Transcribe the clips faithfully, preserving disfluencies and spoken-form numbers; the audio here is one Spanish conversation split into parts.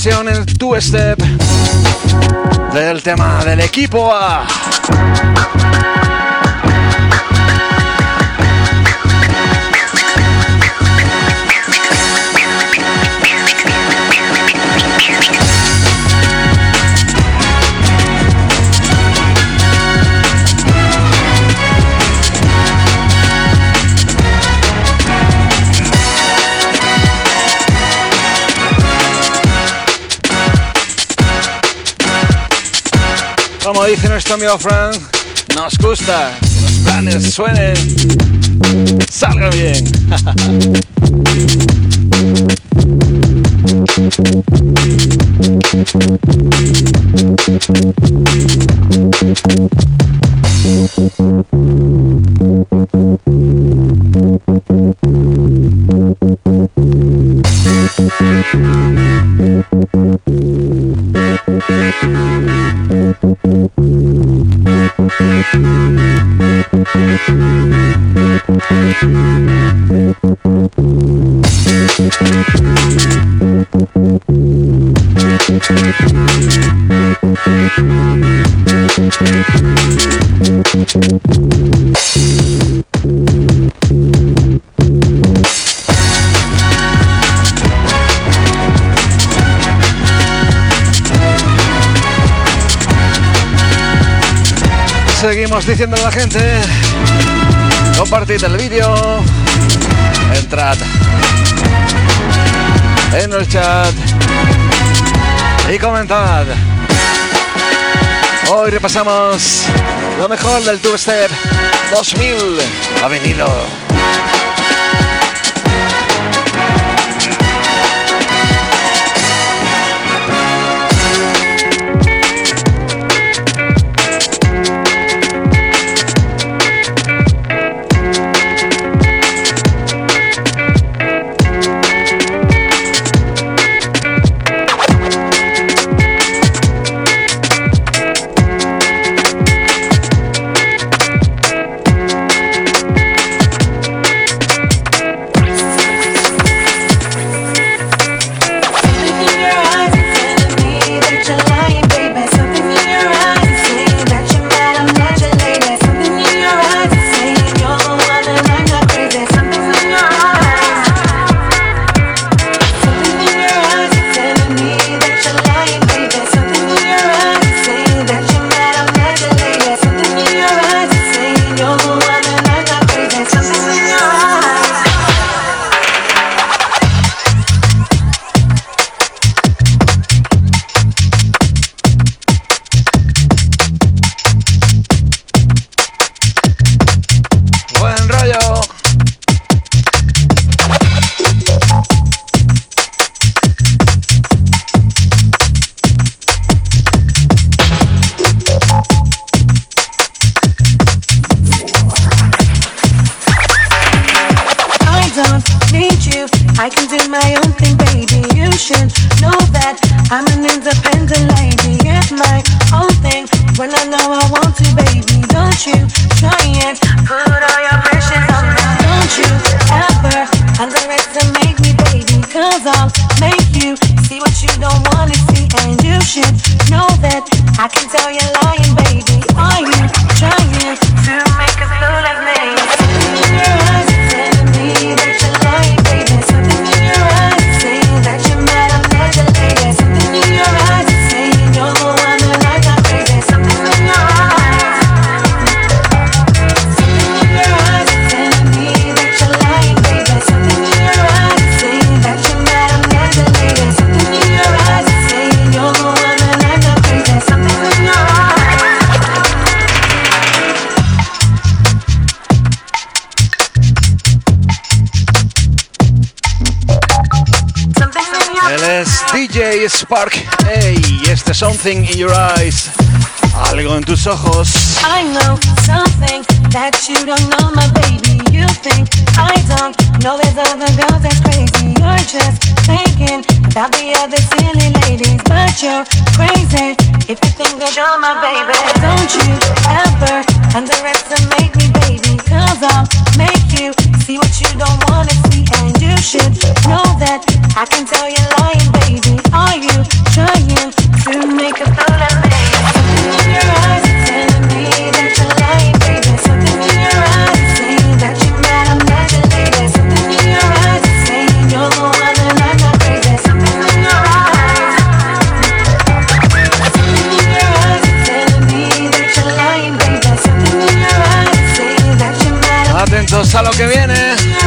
versión en Two Step del tema del equipo A. Como dice nuestro amigo Frank, nos gusta que los planes suenen, salgan bien. Seguimos diciendo a la gente, compartid el vídeo, entrad en el chat y comentad. Hoy repasamos lo mejor del Two Step dos mil. Ha venido. I can do my own thing, baby. You should know that I'm an independent lady. Get my own thing when I know I want to, baby. Don't you try and put all your pressure on me. Don't you ever underestimate me, baby. Cause I'll make you see what you don't wanna see. And you should know that I can tell you're lying, baby. Are you trying to make a fool of me? Something in your eyes is telling me that you're lying, baby. Something in your eyes is saying that you're mad, I'm not your lady. Something in your eyes is saying you're the one that I got crazy. Something in your eyes, something in your eyes is telling me that you're lying, baby. Something in your eyes is saying that you're mad, I'm not your lady. Something in your eyes is saying you're the one that I got crazy. Something in your eyes. Él es D J Spark. Hey, este Something in Your Eyes. Algo en tus ojos. I know something that you don't know, my baby. You think I don't know there's other girls that's crazy. You're just thinking about the other silly ladies, but you're crazy if you think that you're my baby. Don't you ever underestimate me, baby, cause I'll make you see what you don't wanna see. And you should know that I can tell you're lying, baby. Are you trying to make a fool of me? Something in your eyes is telling me that you're lying, baby. Something in your eyes is saying that you're mad, I'm not your lady. Something in your eyes is saying you're the one and I'm not crazy. Something in your eyes, something in your eyes is telling me that you're lying, baby. Something in your eyes is saying that you're mad. Atentos a lo que viene.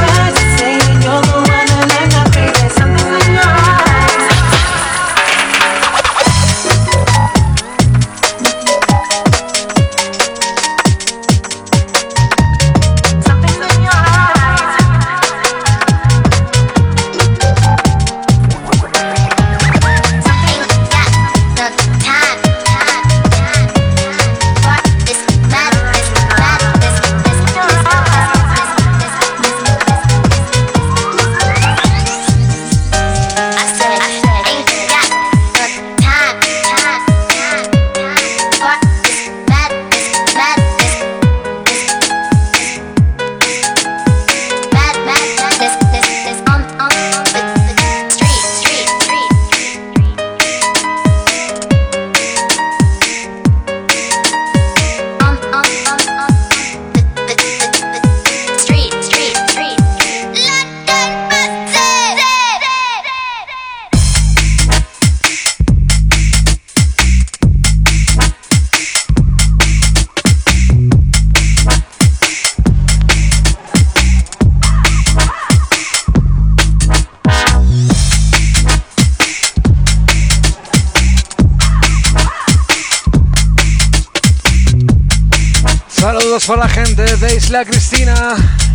Saludos para la gente de Isla Cristina.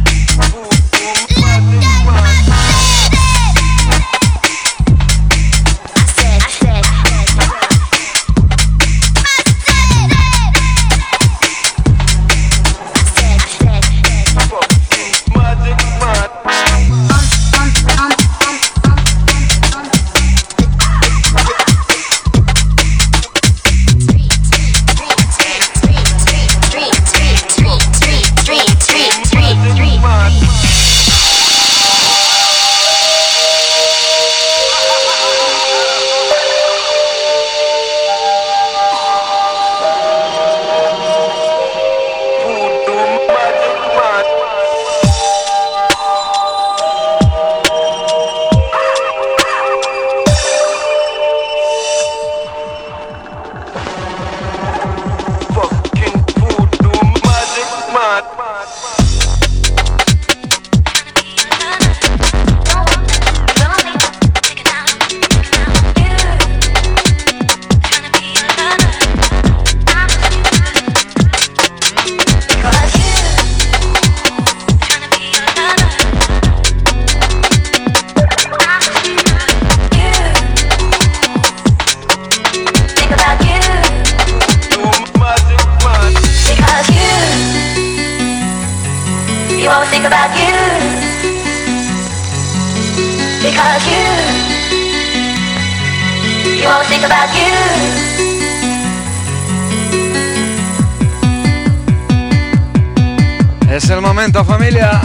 Es el momento, familia.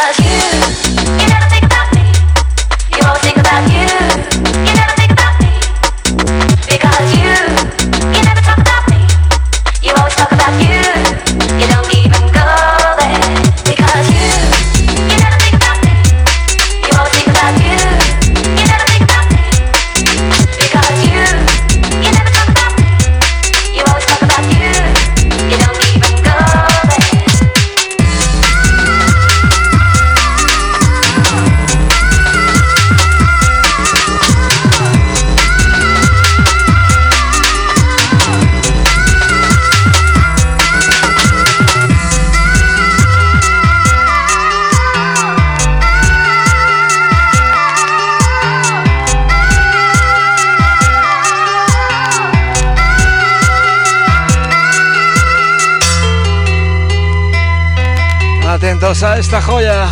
Atentos a esta joya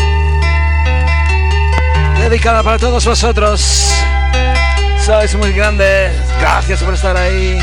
dedicada para todos vosotros. Sois muy grandes. Gracias por estar ahí.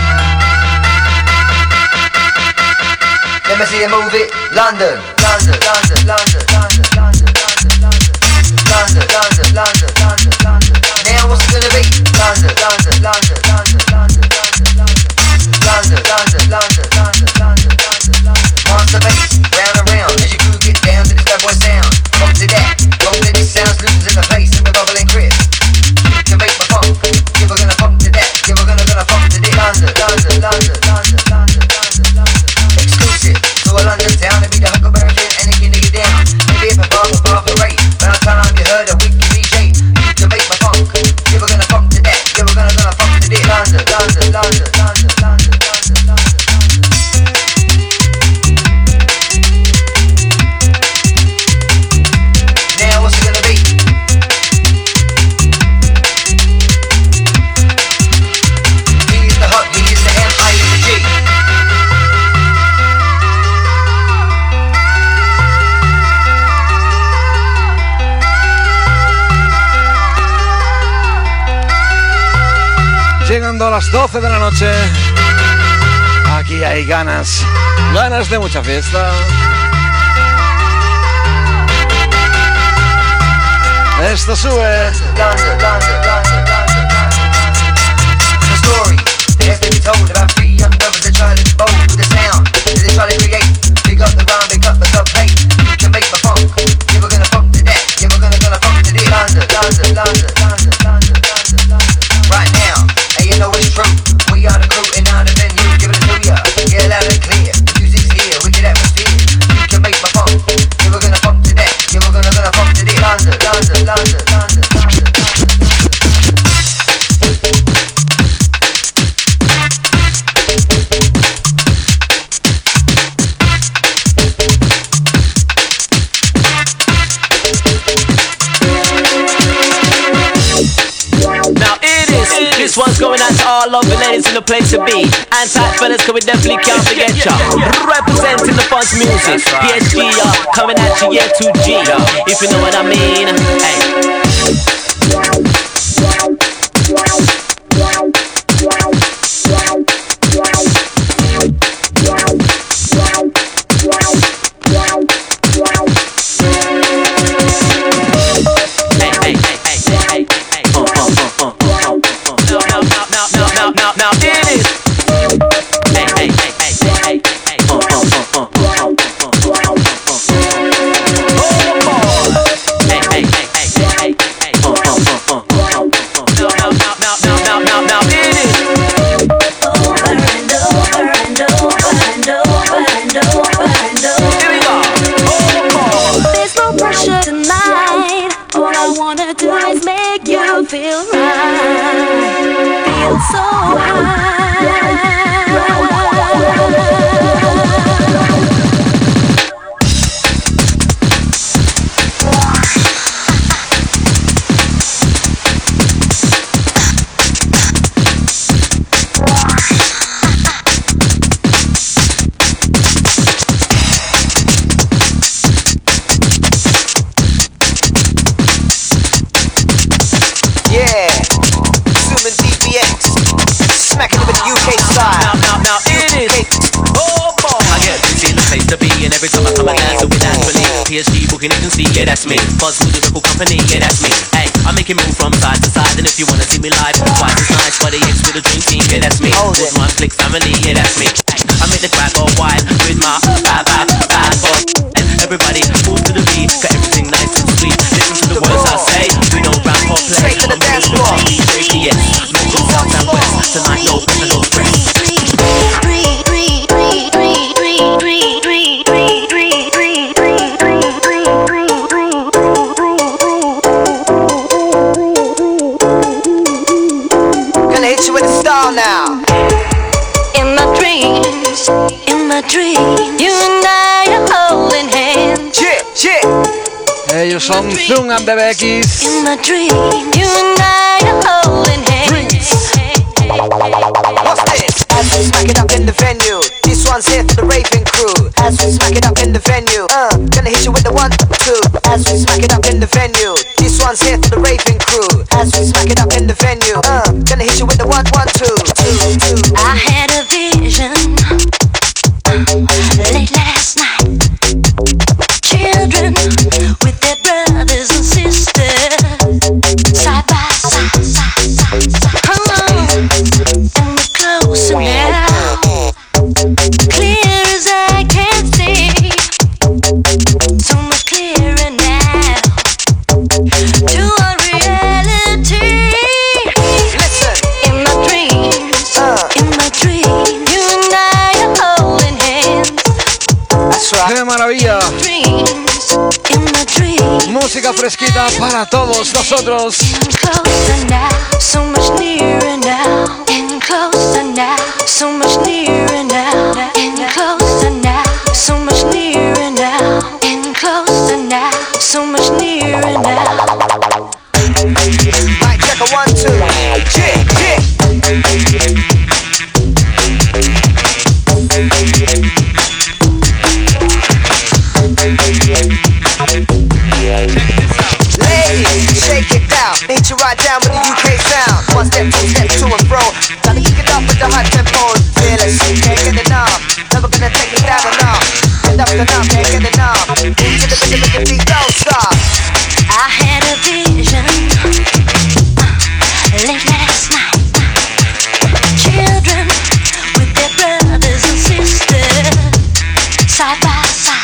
Let me see you move it. London, London, London, London, London, London, London, London, London, London, London, London. Now what's it gonna be? London, London, London, London, London, London, London, London, London, London, London, London. Monster bass, round and round as you groove get down to this bad boy sound. Funk to that, roll with these sounds, losing the place and we're bubbling crisp. You can make my funk, yeah we're gonna funk to that, yeah we're gonna gonna funk to this. London, London, London, London, London, London, London. Exclusive to a London town to be the Huckleberry Finn and it can nigga down. Maybe if a bar for bar for rate, by the time you heard a wicked D J, you can make my funk, yeah we're gonna funk to that, yeah we're gonna gonna funk to this. London, London, London, London, London, London, London. Llegando a las doce de la noche, aquí hay ganas, ganas de mucha fiesta. Esto sube. The story that has to be told about three young brothers that try to be bold with the sound that they try to create. Big up the rhyme, big up the subplate. You can make my funk, yeah we're gonna funk to that, yeah we're gonna gonna funk to this. London, London, London, London, London, London, London. Right now, and you know it's true. We are the crew and now the venue, give it to ya. Yeah, loud and clear. The music's here, wicked atmosphere. You can make my funk, yeah we're gonna funk to that, yeah we're gonna gonna funk to this. London, London, London, London, London. This one's going out to all lovely ladies in the place to be. And tight fellas, cause we definitely can't forget ya. Representing the funk music, P H D, y'all, coming at you, yeah, two G, if you know what I mean. Hey. Now it is. Hey, hey, hey, hey, hey, hey, oh, oh, oh, oh, oh, oh, oh, hey, hey, hey, hey, hey, hey, oh, oh, oh, oh, oh, now, now, now, now, now, now, now it is. Over and over and over and over and over and over. Here we go. Oh, there's no pressure tonight. All I wanna do is make you feel right. Feel so high. P H D booking agency, yeah that's me. Buzz Musical Company, yeah that's me. Hey, I make it move from side to side, and if you wanna see me live, twice as nice. But the X with a dream team, yeah that's me. Good Rhyme Click Family, yeah that's me. Hey, I make the crowd go wild with my bad bad bad boy. Everybody move to the beat, got everything nice and sweet. Listen to the words I say, we don't rap or play. Straight to the dance floor. Yes, mental south and west. Tonight no pressure, no stress. Gonna hit you with the style now. In my dreams, in my dreams, you and I are holding hands. Chip, chip. Ellos son Zoom and Bebe X. In my dreams, you and I are holding hands. What's this? As we smack it up in the venue, this one's here for the raving crew. As we smack it up in the venue, uh, gonna hit you with the one, two. As we smack it up in the venue, this one's here for the raving crew. As we smack it up in the venue, uh, gonna hit you with the one, one, two, two, two. I had a vision late last night. Children with their brothers and sisters, side by side, side, side, side. Come on, and we're closer now, clear as I can see, so much clearer now to our reality. Listen, In my dreams, uh, in my dreams, you and I are holding hands. that's right. ¡Qué maravilla! Dreams, in my dreams. Música fresquita para todos nosotros. Closer now, so much nearer now. And closer now, so much nearer now. And closer now, so much nearer now. And closer now, so much nearer now. Mic check a one, two. Chip, chip. Ladies, shake it down. Hit you right down with the U K sound. One step, two step, to and fro. Gotta kick it up with the high tempo. Fearless, can't get enough. Never gonna take it down enough. Get up and up, can't get enough. Move to the rhythm of the beat, don't stop. I had a vision late last night. Children with their brothers and sisters, side by side.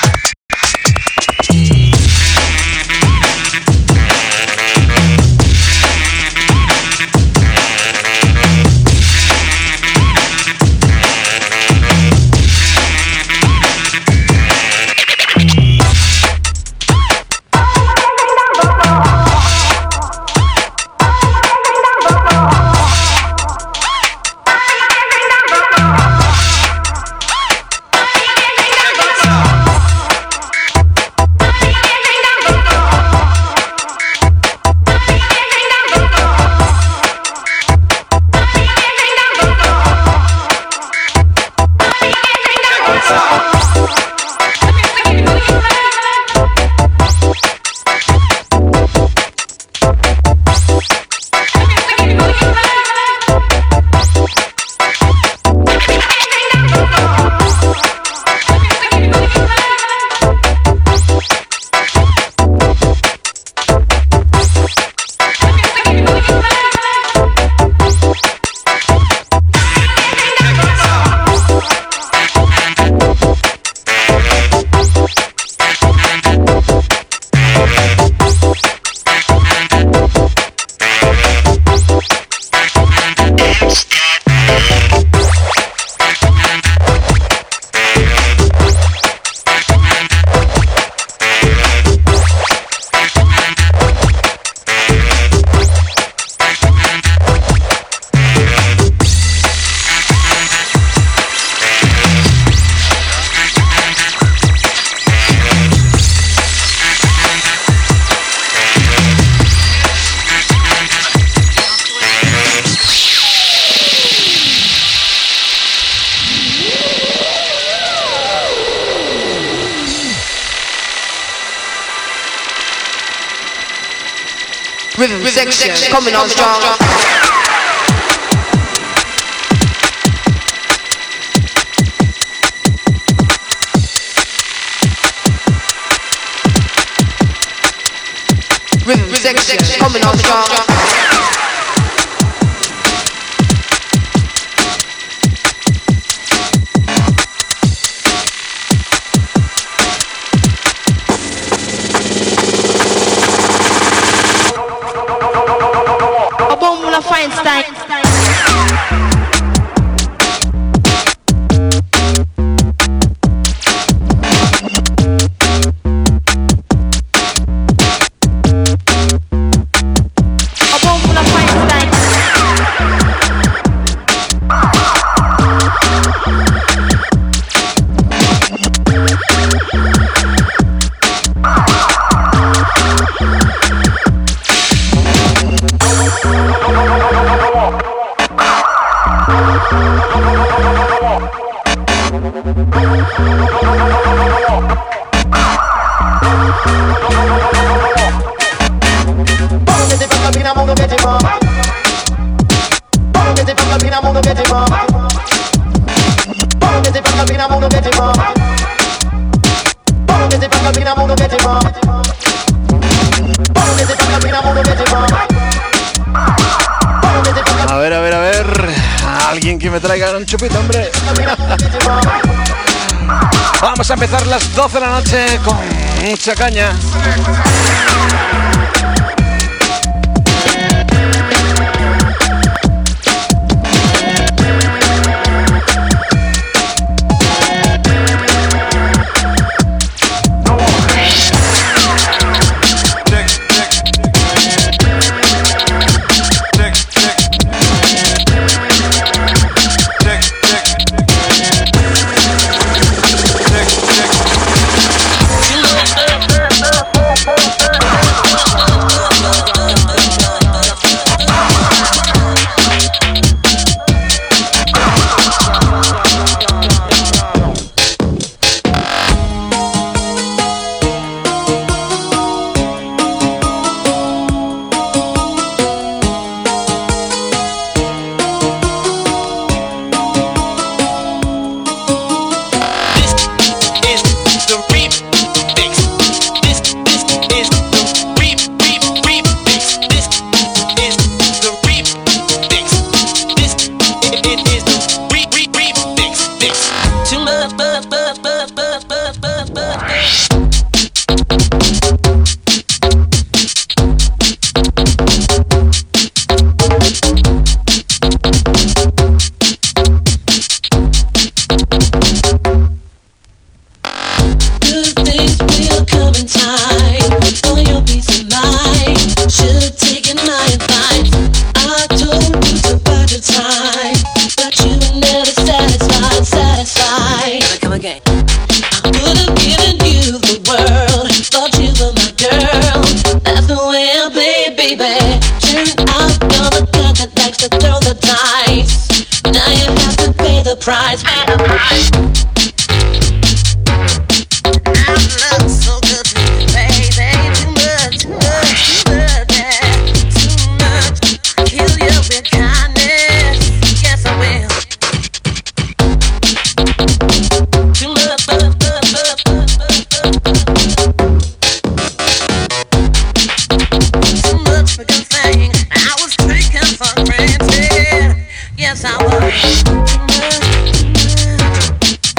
Rhythm section coming on strong. section coming on strong. Bomba Feinstein. A ver, a ver, a ver. Alguien que me traiga un chupito, hombre. Vamos a empezar las doce de la noche con mucha caña. Price, pay the price. I love so good, baby. Too much, too much, too much, yeah. Too much. Kill you with kindness. Yes, I will. Too much, much, much, much, much, too much for good thing. I was taken for granted. Yes, I was.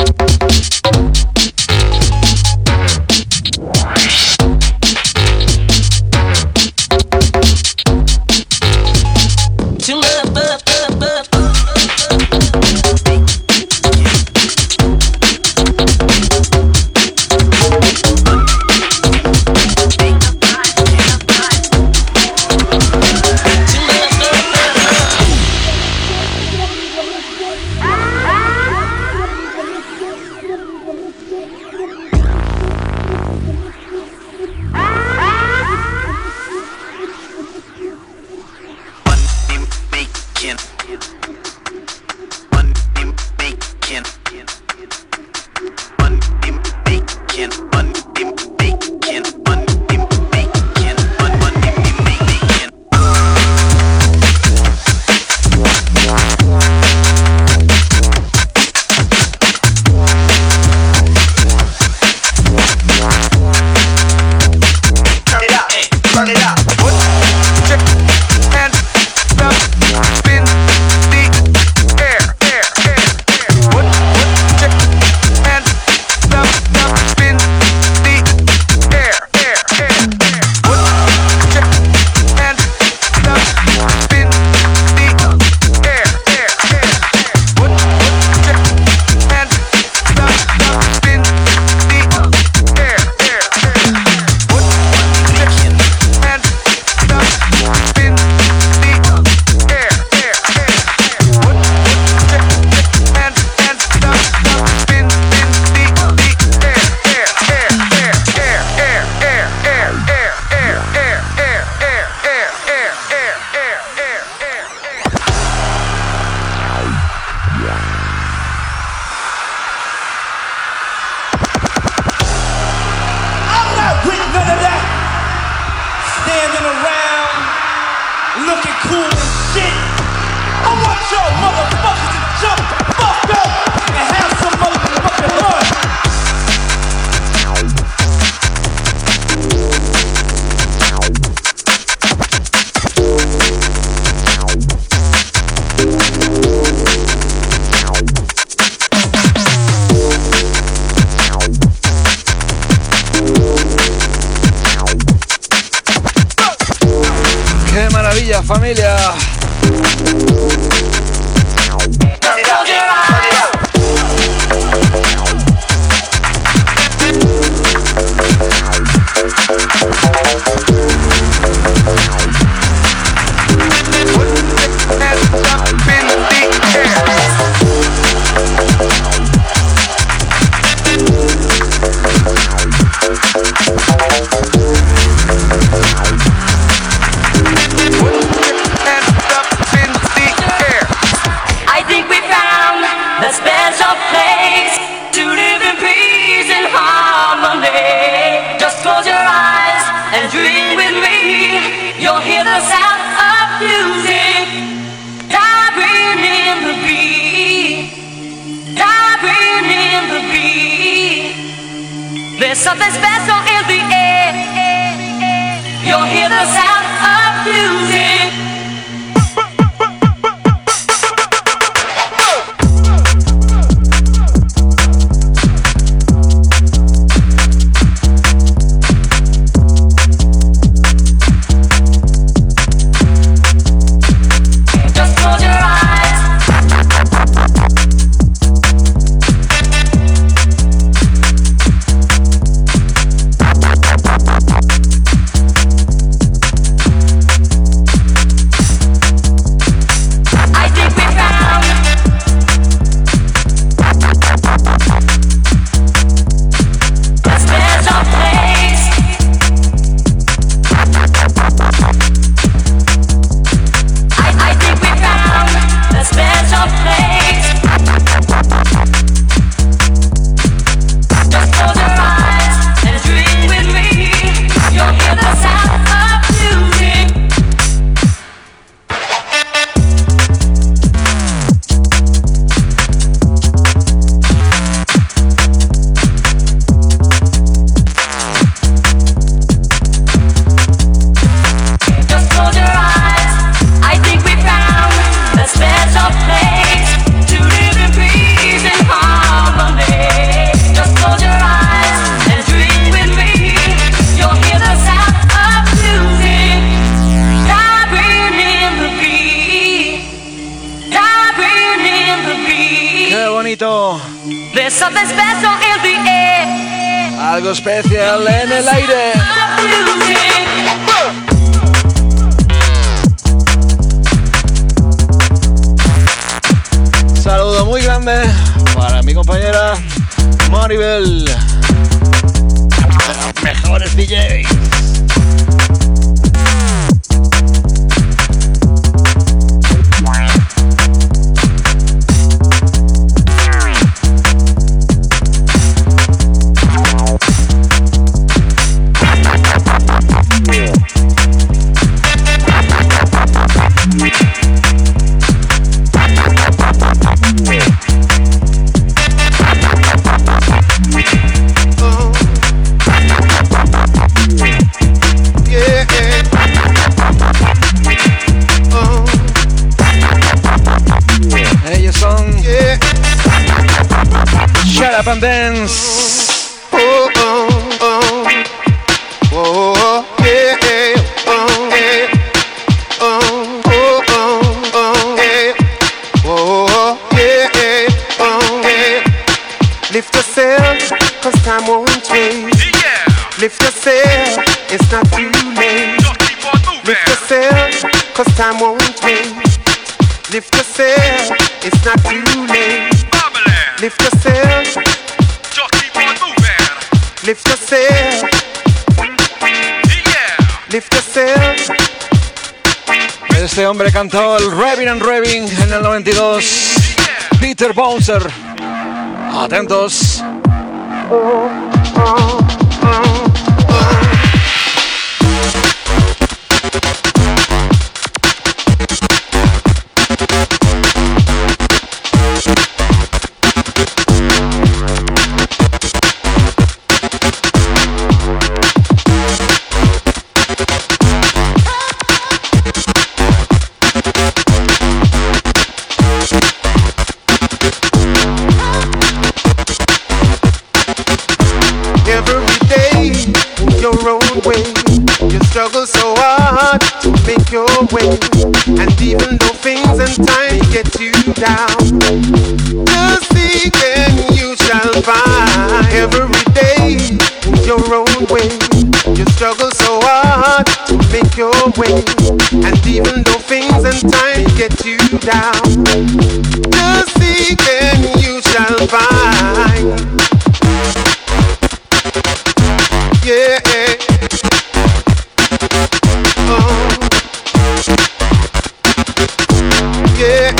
Vaya familia. There's something special in the air. You'll hear the sound of music. There's something special in the air. Algo especial en el aire. Saludo muy grande para mi compañera Maribel, de los mejores D Js. Shut Up and Dance. Oh, oh, oh, oh, yeah, oh, yeah, oh, oh, oh, oh, yeah, oh, yeah, oh, yeah. Lift yourself, cause time won't wait. Lift yourself, it's not too late. Lift yourself, cause time won't wait. Lift yourself, it's not too late. Lift yourself, just keep on moving. Lift yourself, yeah. Lift yourself. Este hombre cantó el Revving and Revving en el noventa y dos. Yeah. Peter Bouncer. Atentos. Oh, oh, oh. Every You struggle so hard to make your way, and even though things and times get you down, just seek and you shall find. Every day your own way. You struggle so hard to make your way, and even though things and times get you down, just seek and you shall find. Yeah. Oh. Yeah.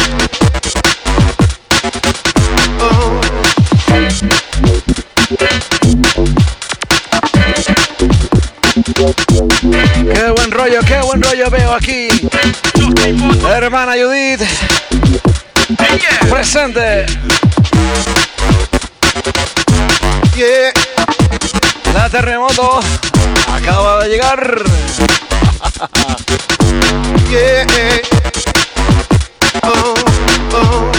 Oh. Qué buen rollo, qué buen rollo veo aquí. Hermana Judith, presente. Yeah. La Terremoto acaba de llegar. Yeah. Oh, oh.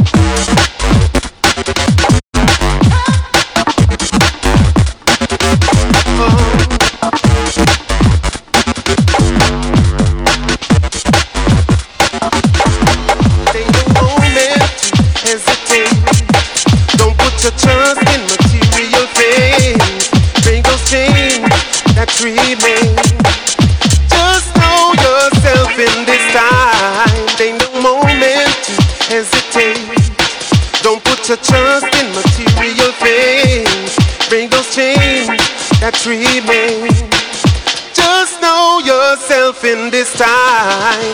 Trust in material things, bring those things that remain. Just know yourself in this time. Ain't no moment to hesitate. Don't put your trust in material things, bring those things that remain. Just know yourself in this time.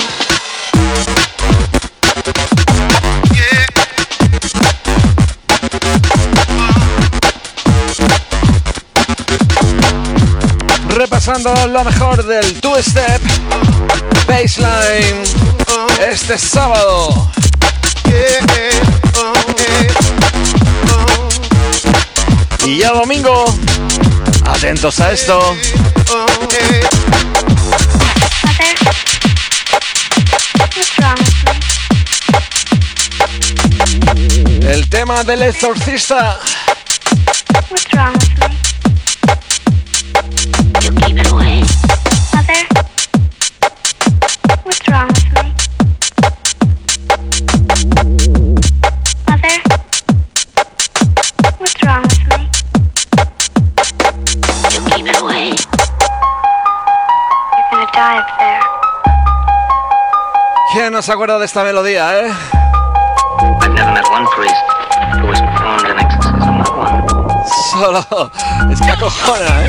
Repasando lo mejor del two-step baseline este sábado. Y ya domingo, atentos a esto. El tema del exorcista. What's wrong with me? You keep it away. Mother? What's wrong with me? Mother? What's wrong with me? You keep it away. You're gonna die up there. ¿Quién no se acuerda de esta melodía, eh? I've never met one priest who has performed an exorcism, not one. Solo esta cojona, eh.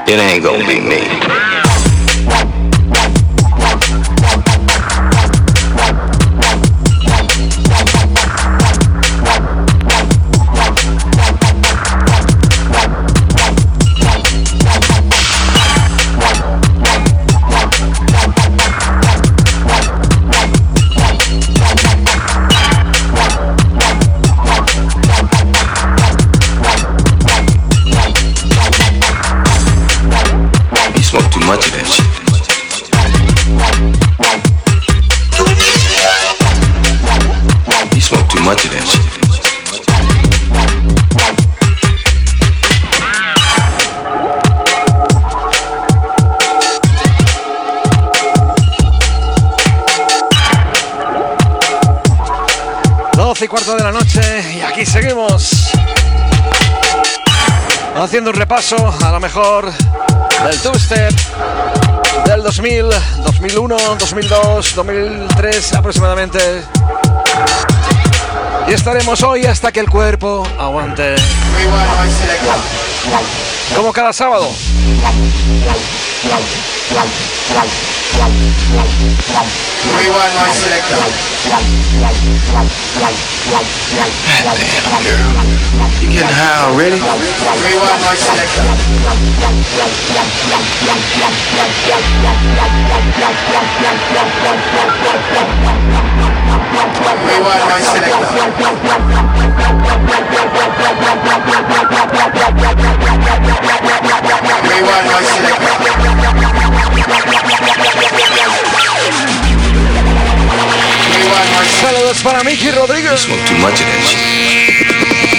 it ain't gonna be me. Much of that shit. You smoke too much of that shit. doce y cuarto de la noche y aquí seguimos haciendo un repaso a lo mejor del two-step del dos mil, dos mil uno, dos mil dos, dos mil tres aproximadamente. Y estaremos hoy hasta que el cuerpo aguante. Como cada sábado. Damn, girl. You getting high already? Rewind my selector. Rewind my selector. Rewind my selector. Saludos para Miki Rodríguez. You smoke too much of that shit.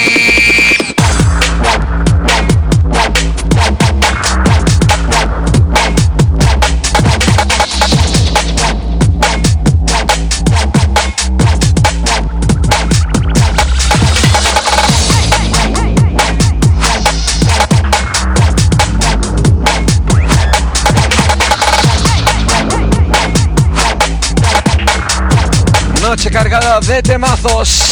Noche cargada de temazos.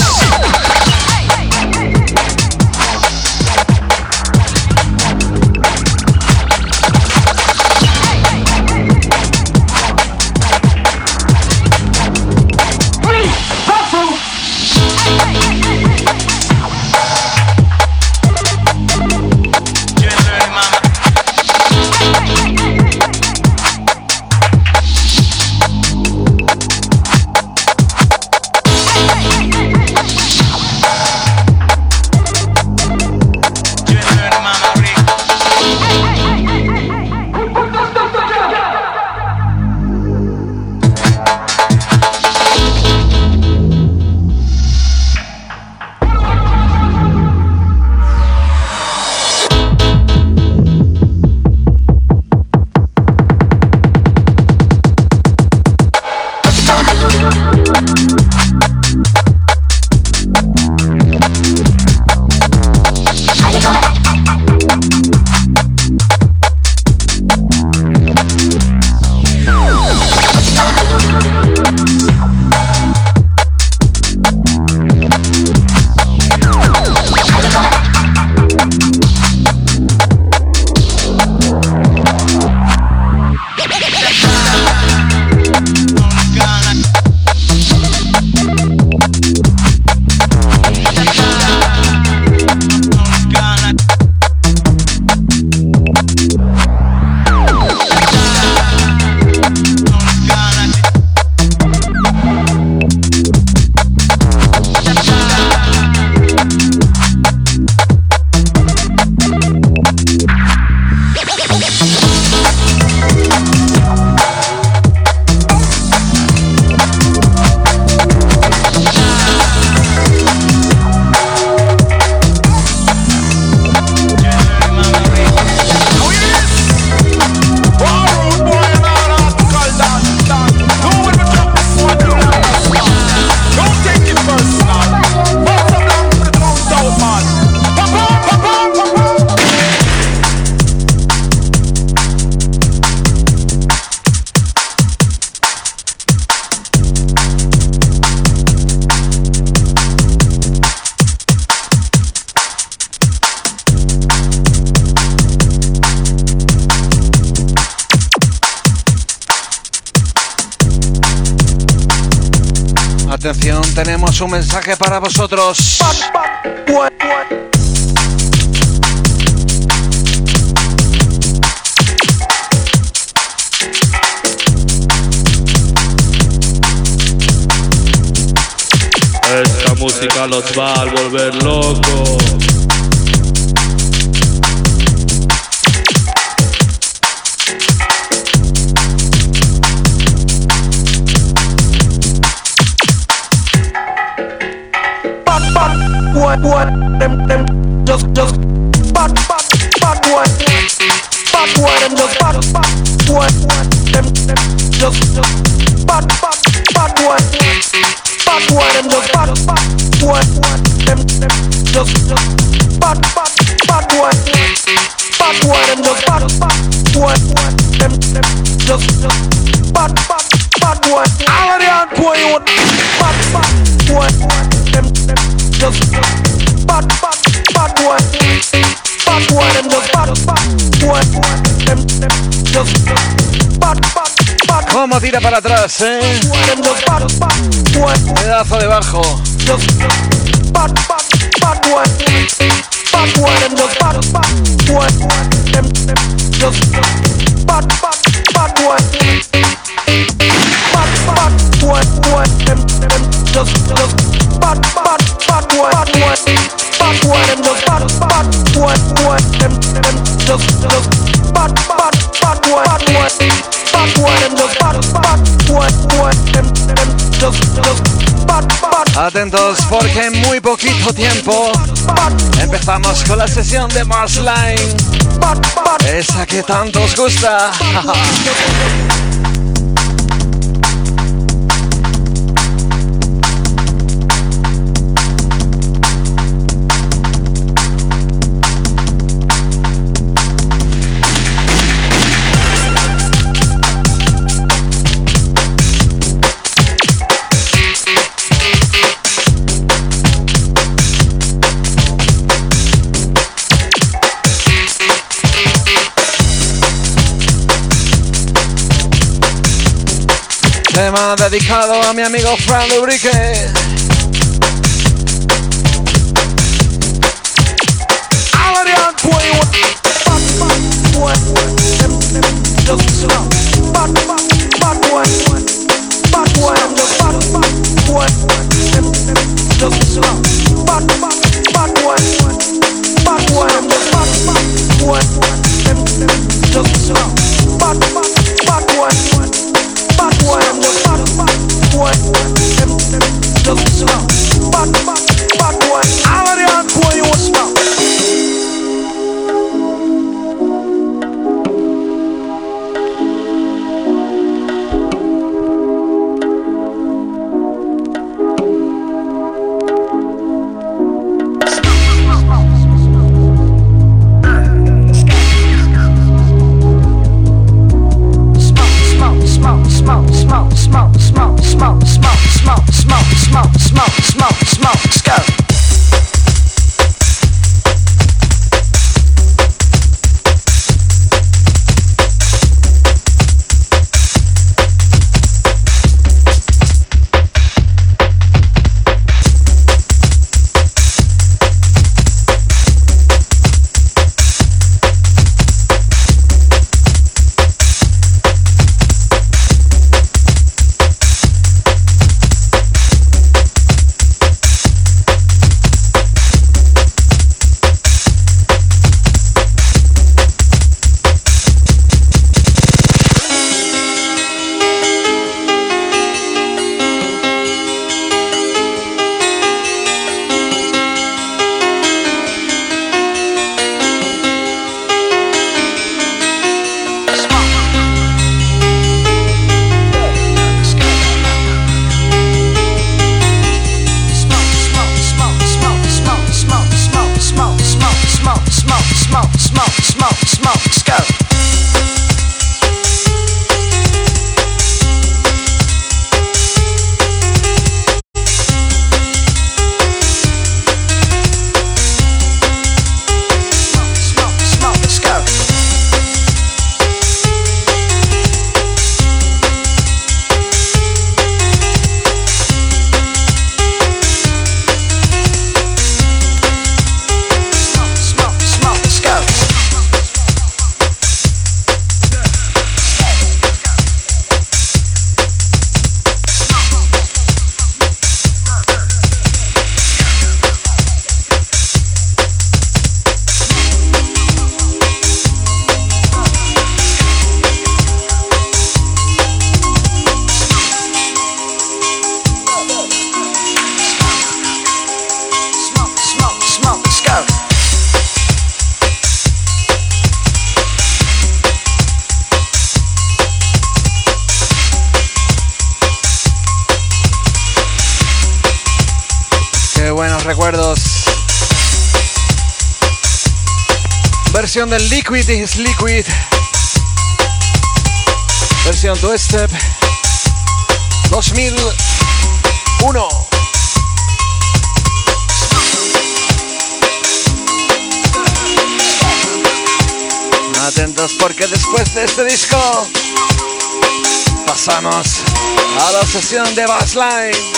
Atención, tenemos un mensaje para vosotros. Esta música los va a volver locos. What, what, them, them, just, just, bad, bad, bad, what, bad, what, them, just, bad, bad, what, them, them, just, just, bad, bad, bad, what, bad, what, them, just, bad, bad, what, them, them, just, just, bad, bad, bad, what, bad, what, them, just, bad, bad, what, them, them, just, just, bad, bad, bad, what, all of the hardcore, what, bad, bad, what, them, them, just, just, bad, bad, bad, what, bad, what, them, just, bad, bad, what, them, them, just, just, bad, bad, bad. ¿Cómo tira para atrás, eh? Them, just, bad, bad, what, Pedazo de bajo. just, just, bad, bad, bad, what, bad, what, them, just, bad, bad, what, them, them, just, just, bad, bad, bad, what, bad, bad, what, what, them, them, just, just, bad, bad, bad, what, bad, what, bad, what, them, just, bad, bad, what, what, them, them, just, just, bad, bad, bad, what, bad, what, bad, what, them, just, bad, bad, what, what, them, them, just, just, bad, bad. Atentos porque en muy poquito tiempo empezamos con la sesión de Marsline, esa que tanto os gusta. Tema dedicado a mi amigo Fran Lubrique. buenos recuerdos. Versión del Liquid is Liquid. Versión Two Step dos mil uno. Atentos porque después de este disco pasamos a la sesión de Bassline.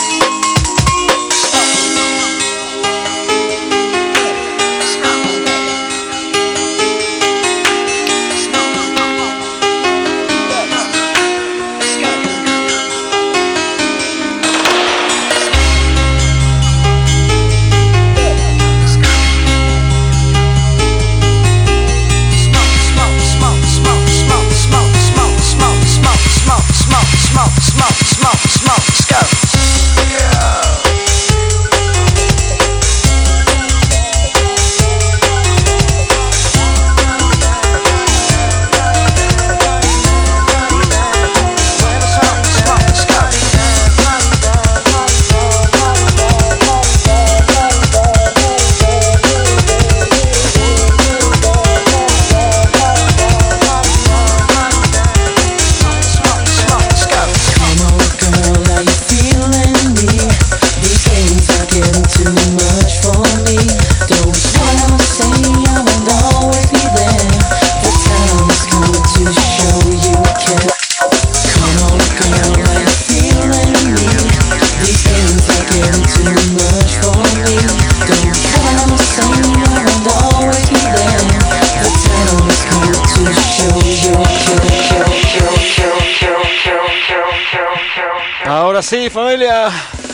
Ahora sí, familia.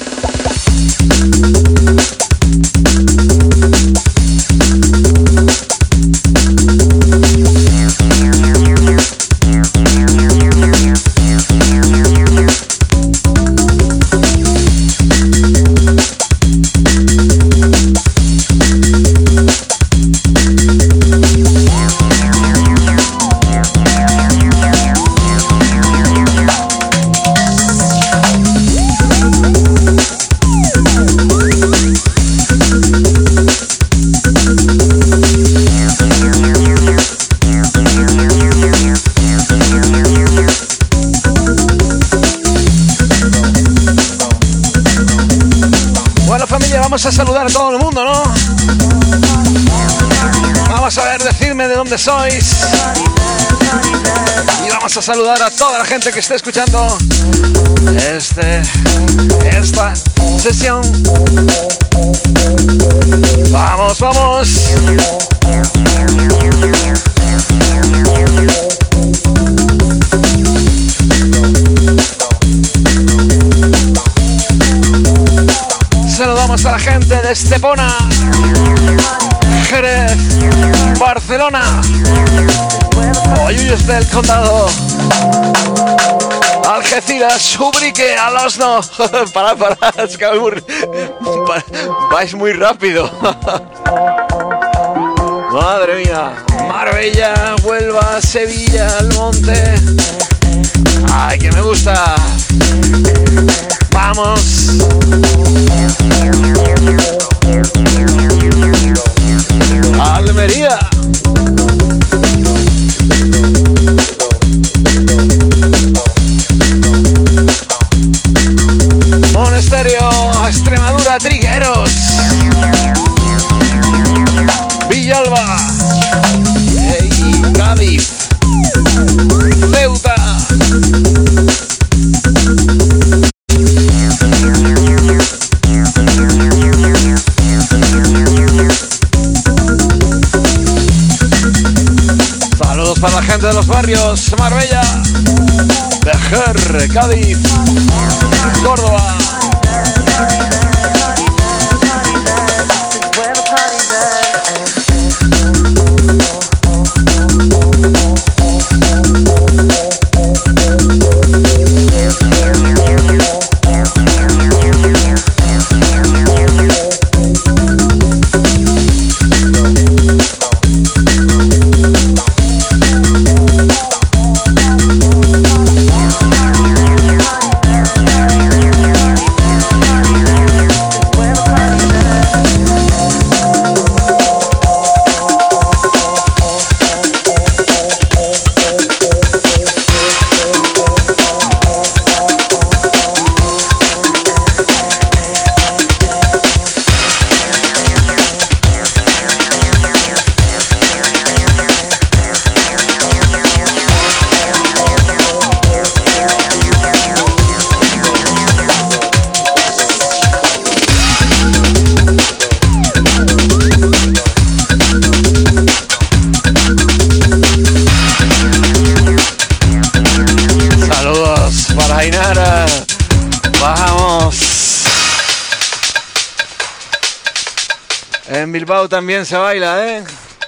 Vamos a saludar a todo el mundo, ¿no? Vamos a ver, decidme de dónde sois. Y vamos a saludar a toda la gente que esté escuchando este, esta sesión. Vamos, vamos. Saludamos a la gente de Estepona, Jerez, Barcelona, Hoyos del Condado, Algeciras, Ubrique, Alosno. Parad, parad, es que vais muy, vais muy rápido. Madre mía. Marbella, Huelva, Sevilla, Almonte. Ay, que me gusta. Vamos. Almería. Monesterio, Extremadura, Trigueros. Villalba. Hey, Cádiz. Ceuta. Saludos para la gente de los barrios Marbella, Vejer, Cádiz, Córdoba. Bilbao también se baila, ¿eh?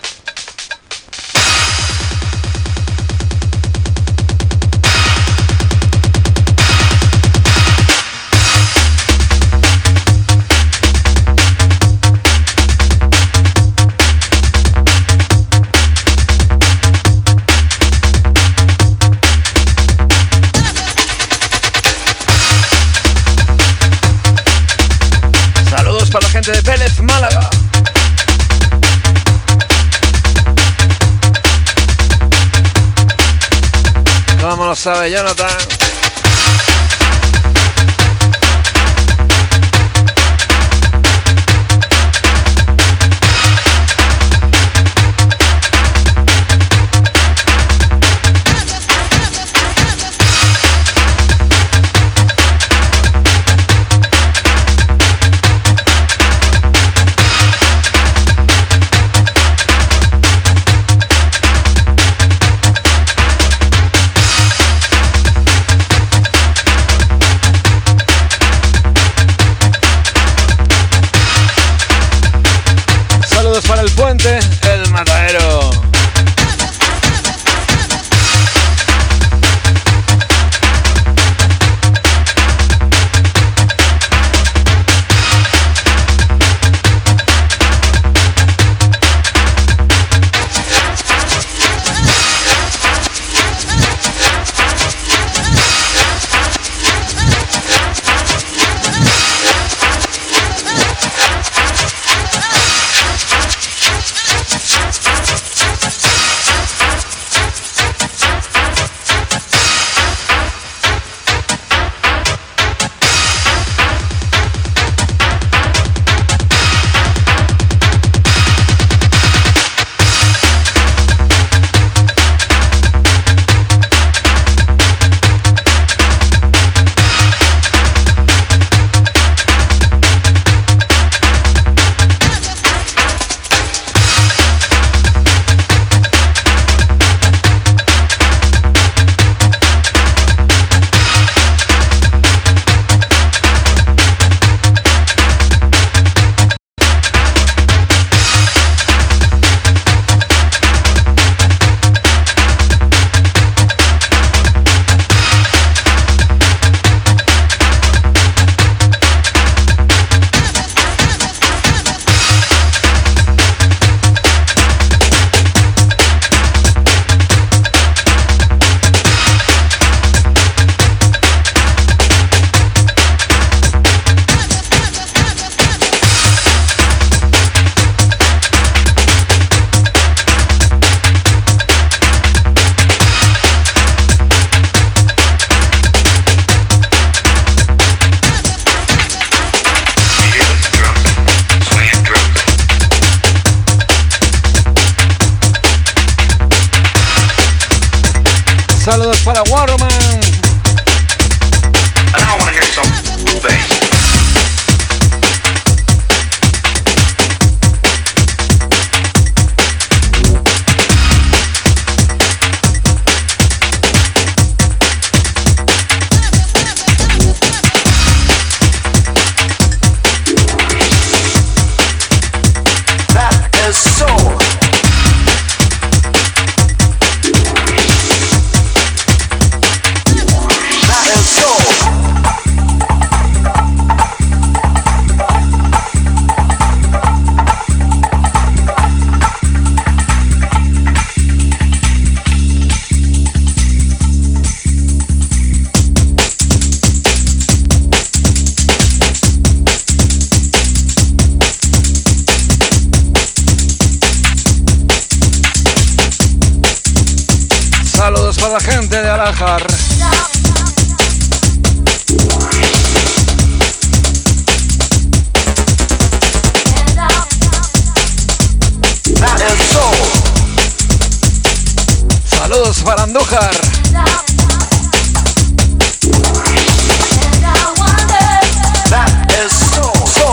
Saludos para la gente de Vélez, Málaga. ¿Cómo lo sabe Jonathan? Para el puente, el matadero. Saludos para Waterman. Saludos para la gente de Alajar. Saludos para Andújar. That is so, so.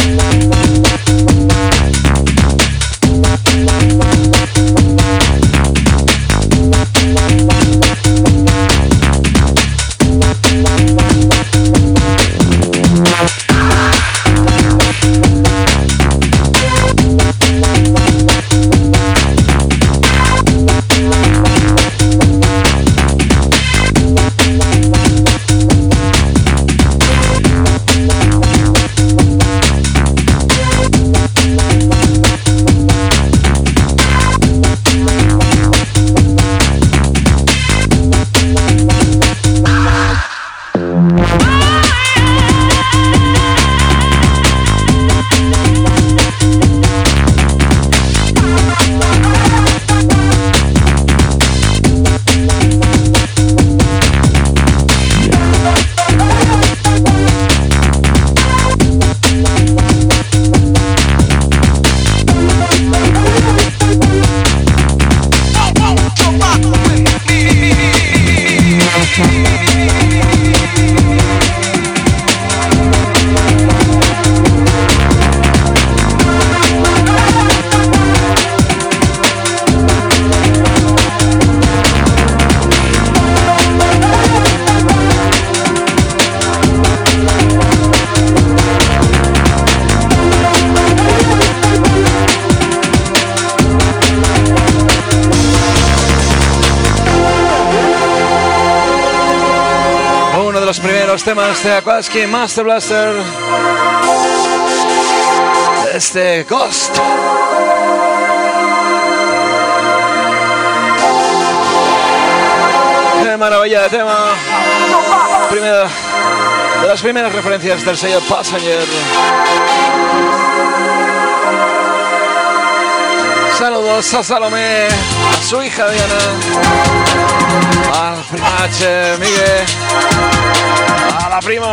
Los primeros temas de Aquatsky Master Blaster, este Ghost. Qué maravilla de tema. Primera, de las primeras referencias del sello Passenger. Saludos a Salomé, a su hija Diana, al primache Miguel, a la prima.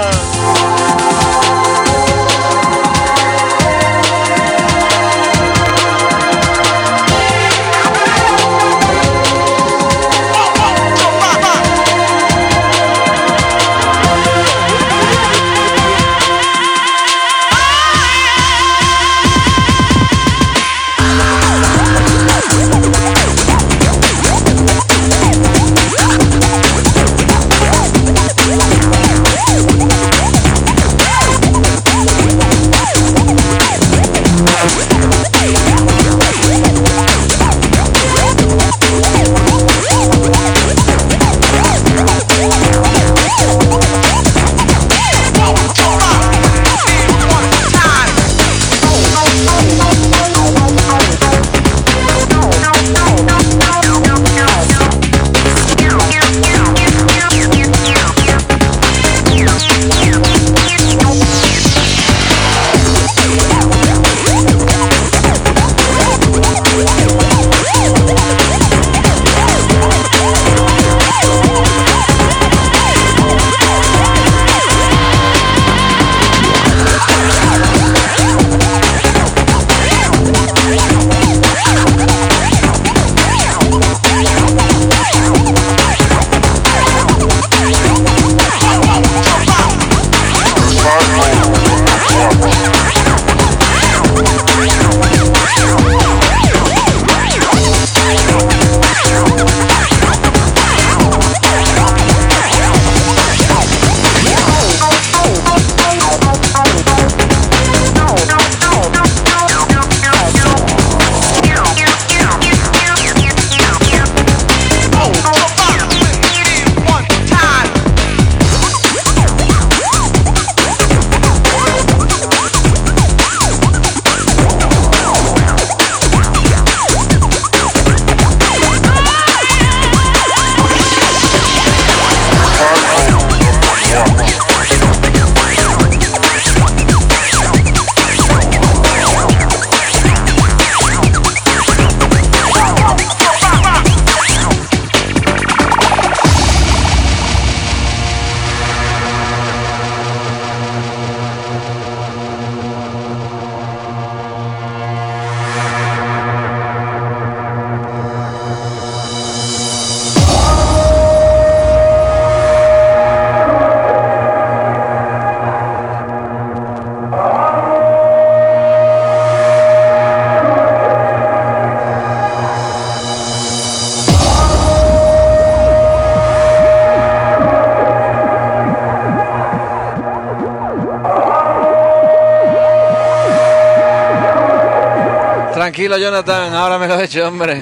Tranquilo, Jonathan, ahora me lo he hecho, hombre.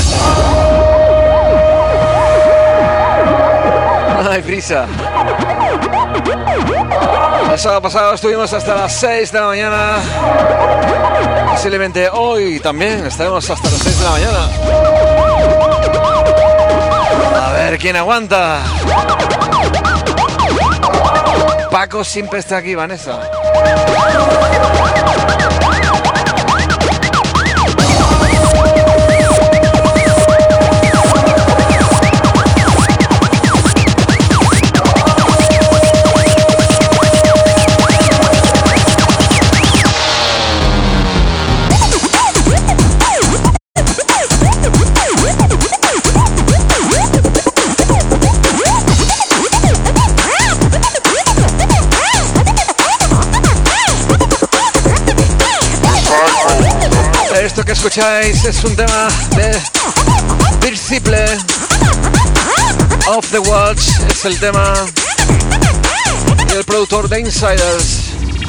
No hay prisa. El sábado pasado estuvimos hasta las seis de la mañana. Posiblemente hoy también estaremos hasta las seis de la mañana. A ver quién aguanta. Paco siempre está aquí, Vanessa. Esto que escucháis es un tema de Disciple, Off the Watch, es el tema del productor de Insiders.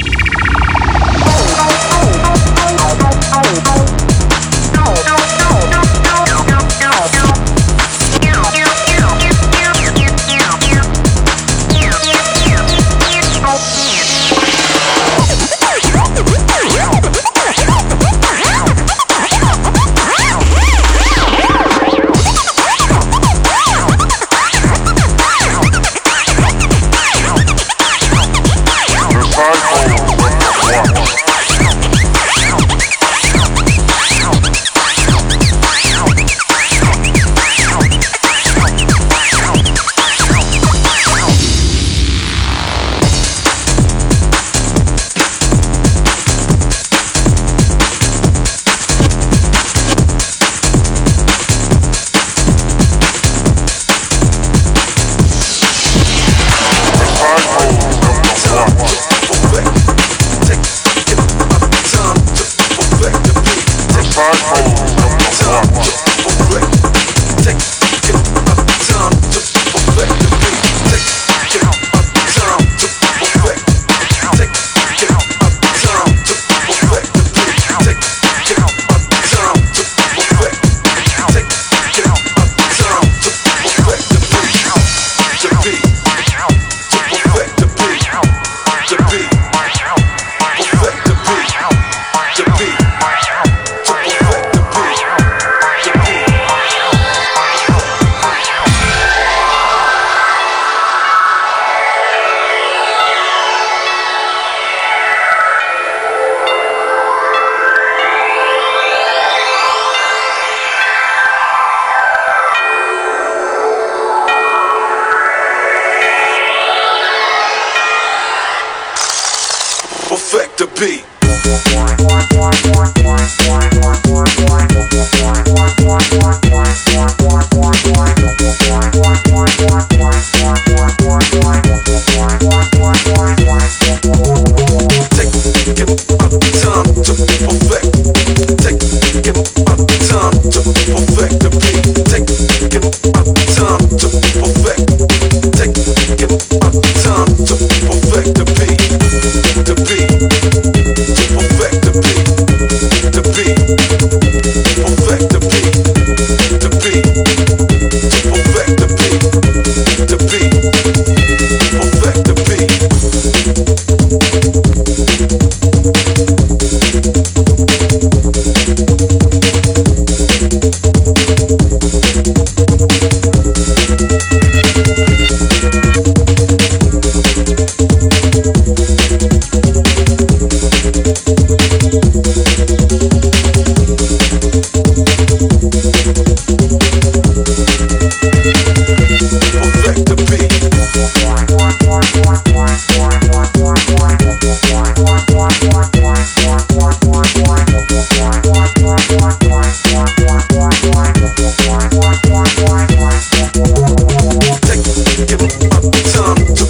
Perfect the beat.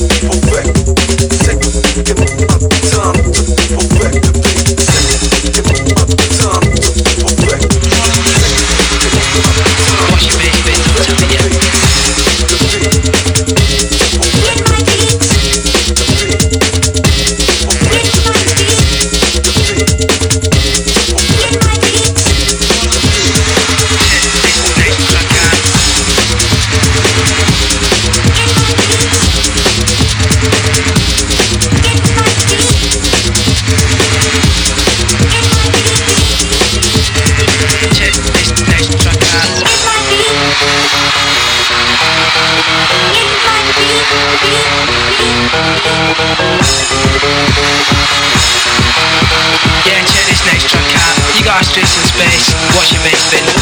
Take Fast streets in space, watch your mates spin.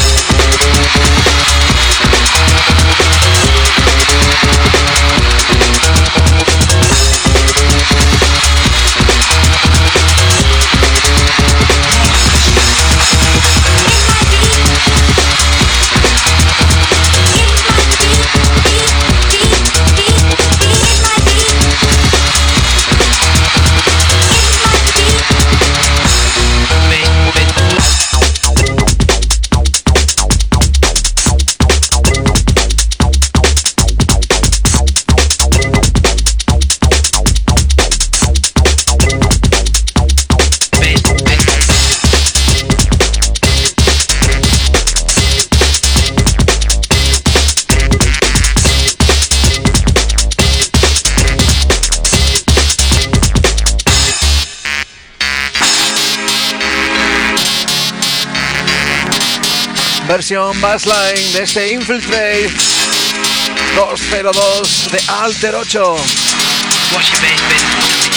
Versión bassline de este Infiltrate doscientos dos de Alter ocho. Watch your bass spin.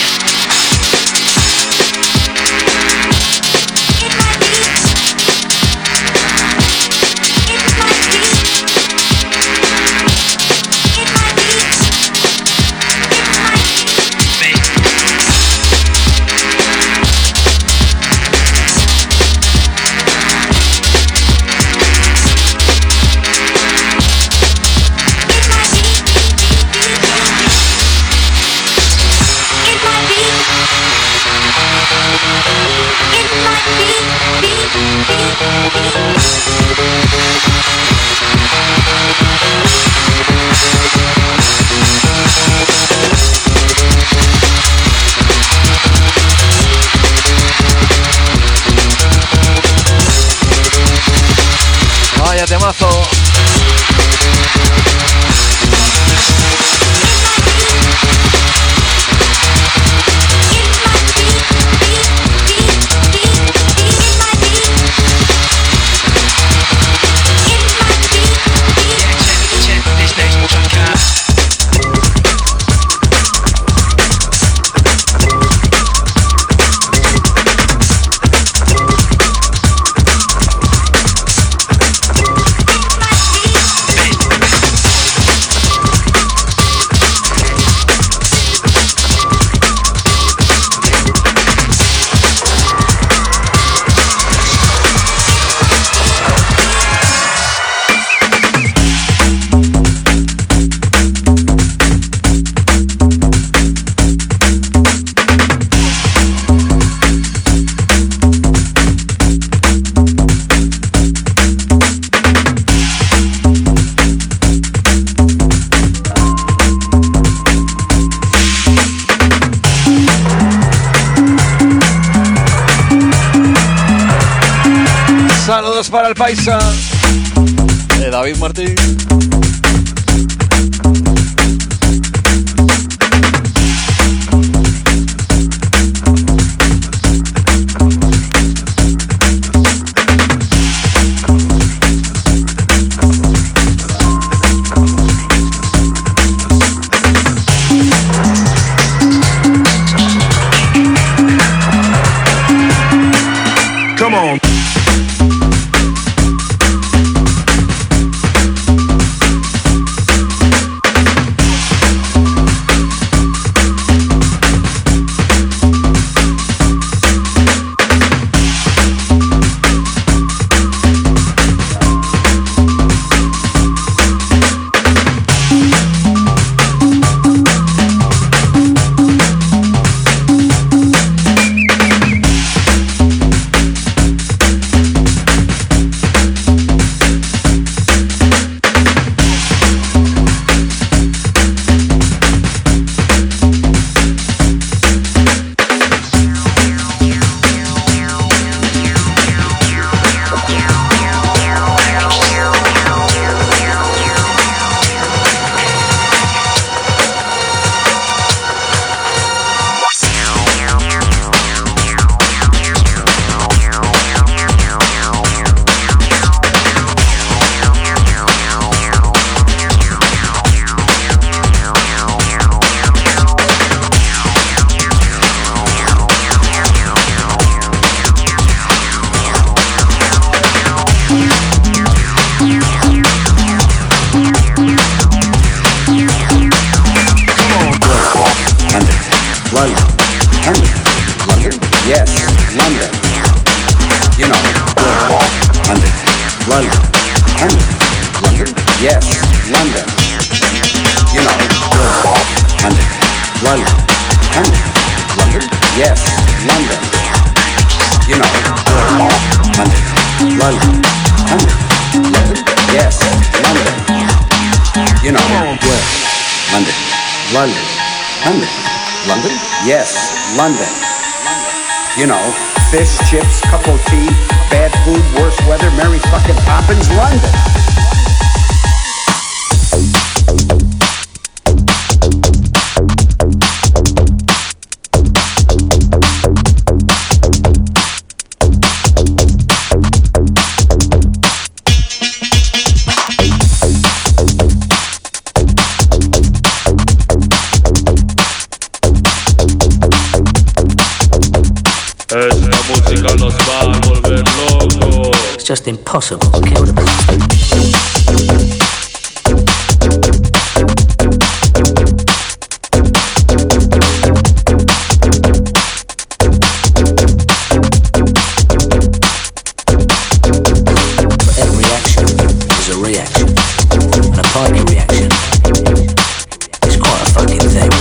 Vaya temazo. Saludos para el paisa de David Martín. Come on. London, London, London, yes, London. You know, London, London, London, London, yes, London. You know, London, London, London, London, yes, London. You know, London, London, London, London, yes, London. You know, fish, chips, cup of tea, bad food, worse weather, Mary fucking Poppins, London. Esta música los va a volver locos. It's just impossible to kill the beast. For every action is a reaction, and a party reaction is quite a fucking thing.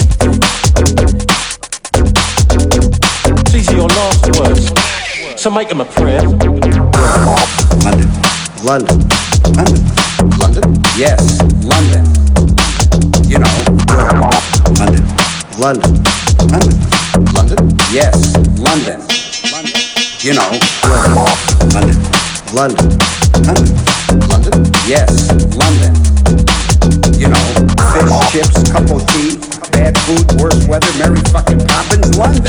These are your last words, so make them a prayer. London, London, London, London, yes, London. You know, London, London, London, London, yes, London. You know, London, London, London, London, yes, London. You know, fish, chips, cup of tea, bad food, worse weather, Mary fucking Poppins, London.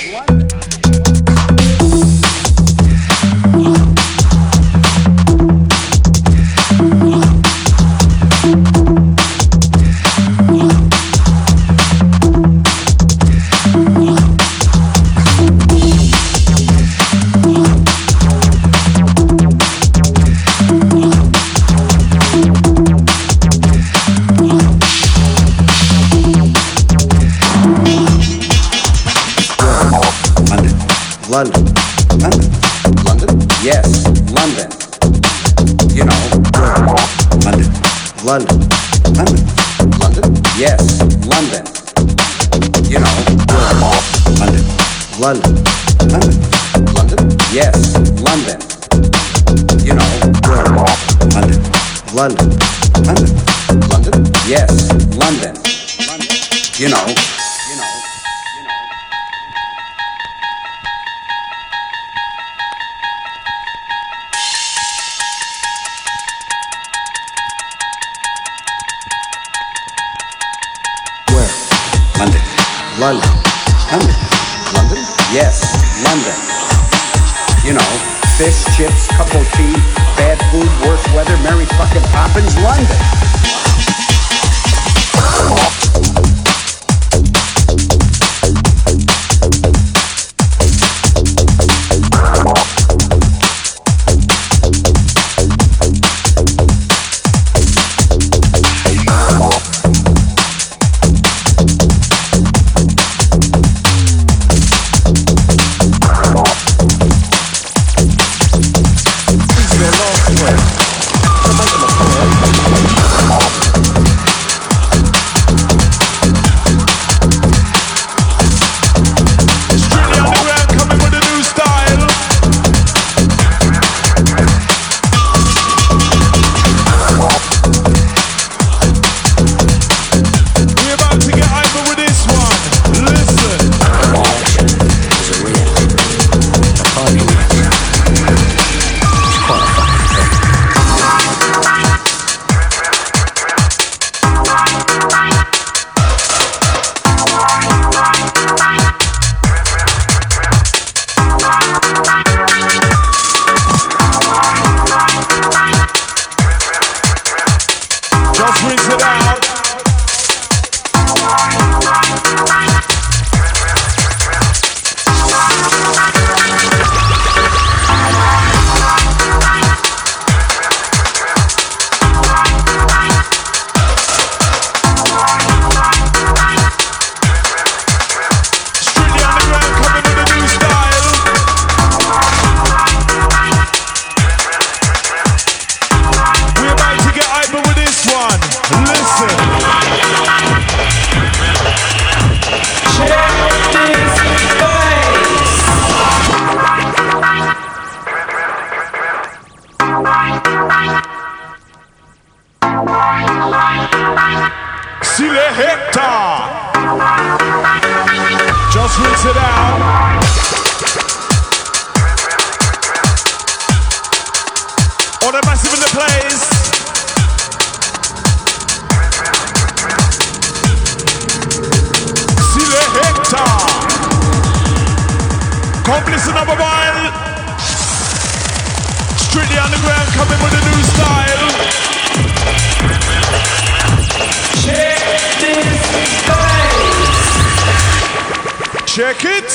London, London, London, yes, London. You know, London, London, London, London, yes, London. You know, London, London, London, London, yes, London. You know, London, London, London, London, yes, London. You know, you know. London, London, London, London, yes, London. You know, fish, chips, cup of tea, bad food, worse weather, Mary fucking Poppins, London. These are your last words, so make them a prayer. What a massive in the place. Selector. Come listen up a while. Strictly underground coming with a new style. Check this space. Check it.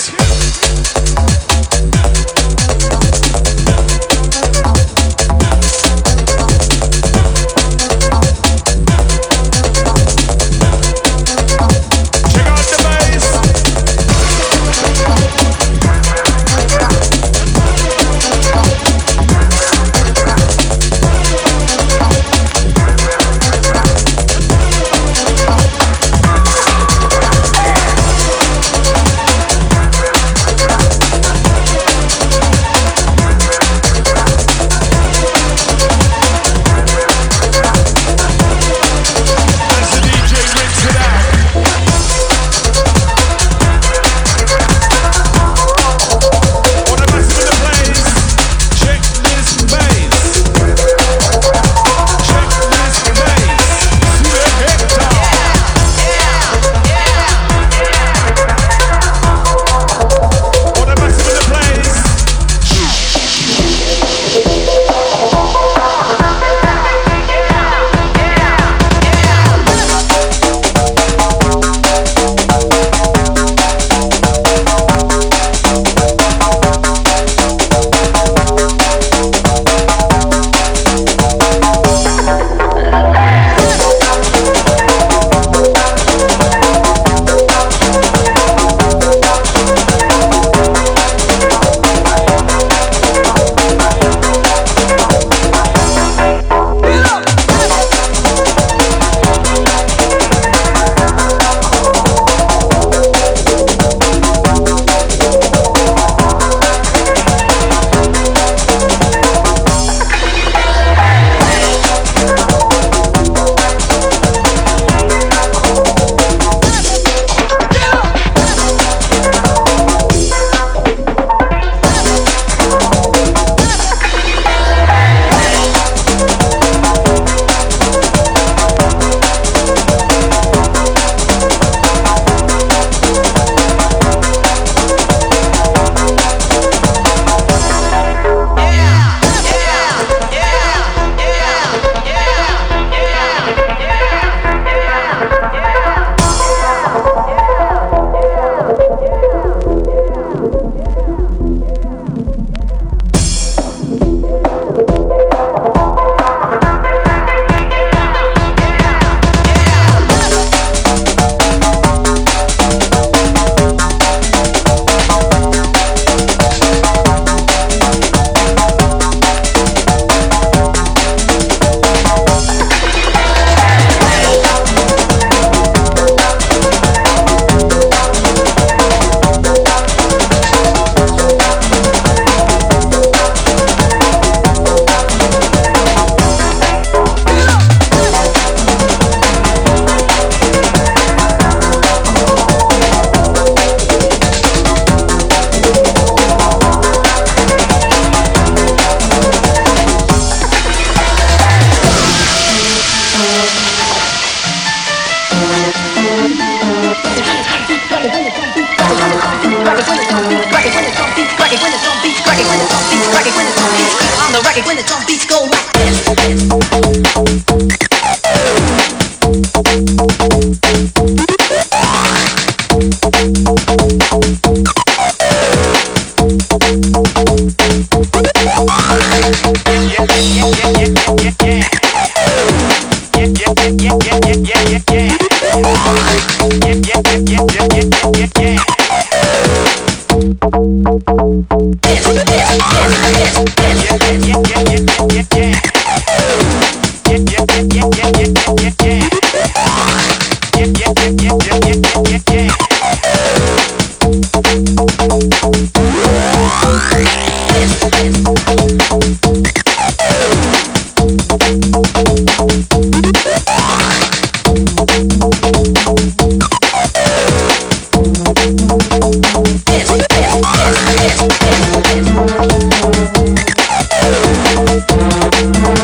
Yes.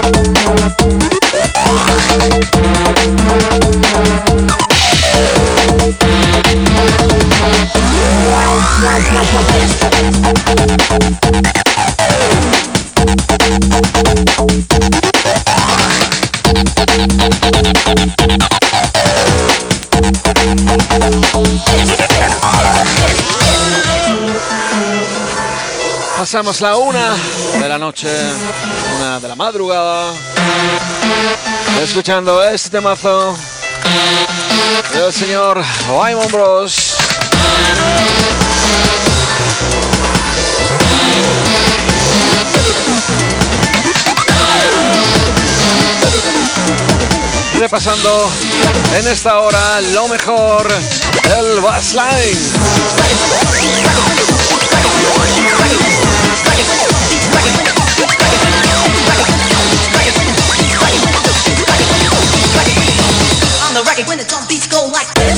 Pasamos la una de la noche, una de la madrugada, escuchando este temazo del señor Wyman Bros. Repasando en esta hora lo mejor del Bassline. On the record when the drum beats go like this.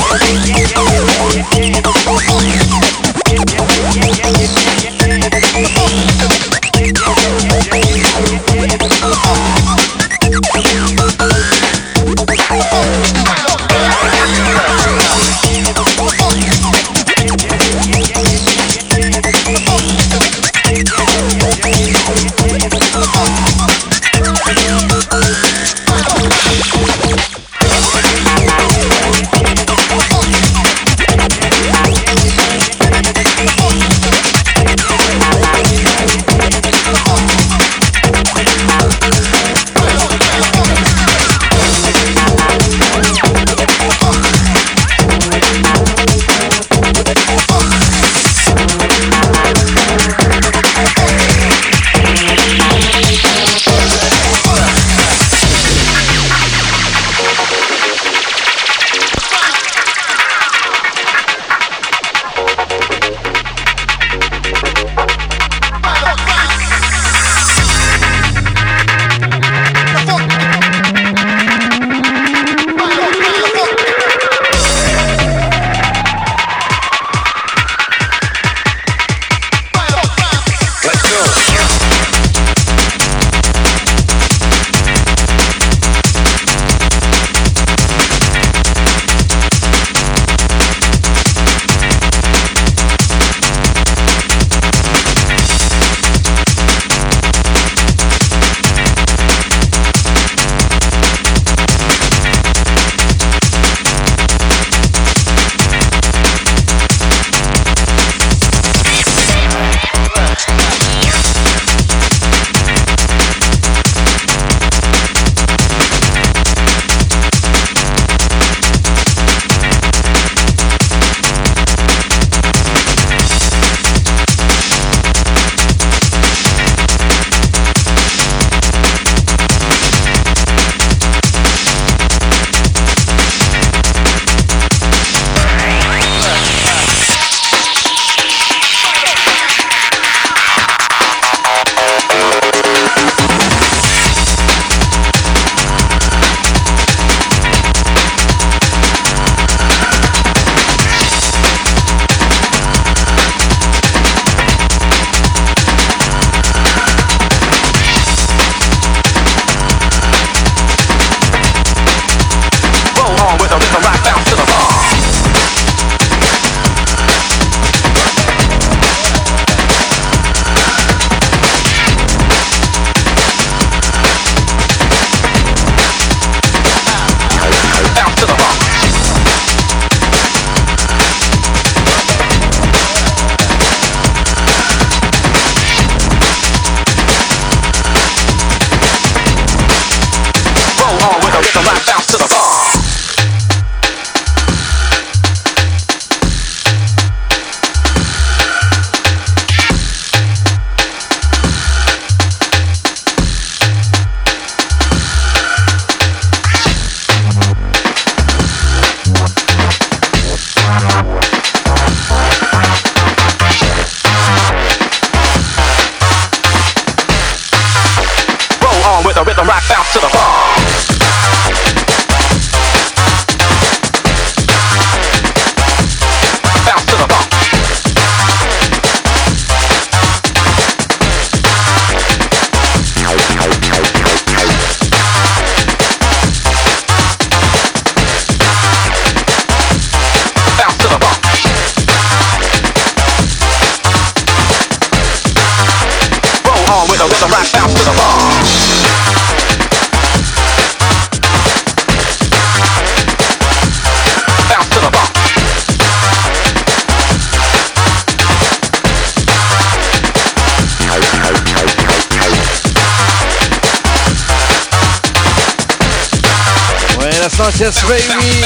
noches, baby.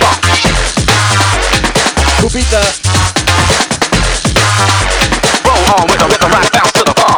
Cupita. Roll on with the rhythm, right bounce to the bar.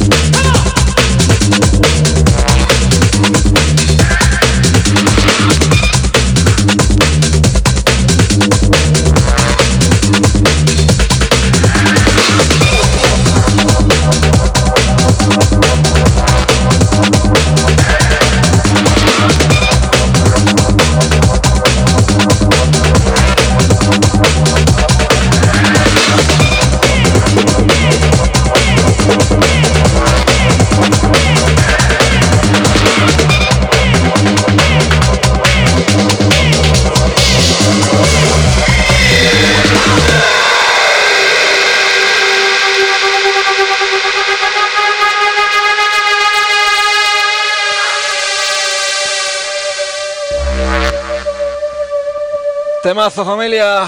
Temazo, familia.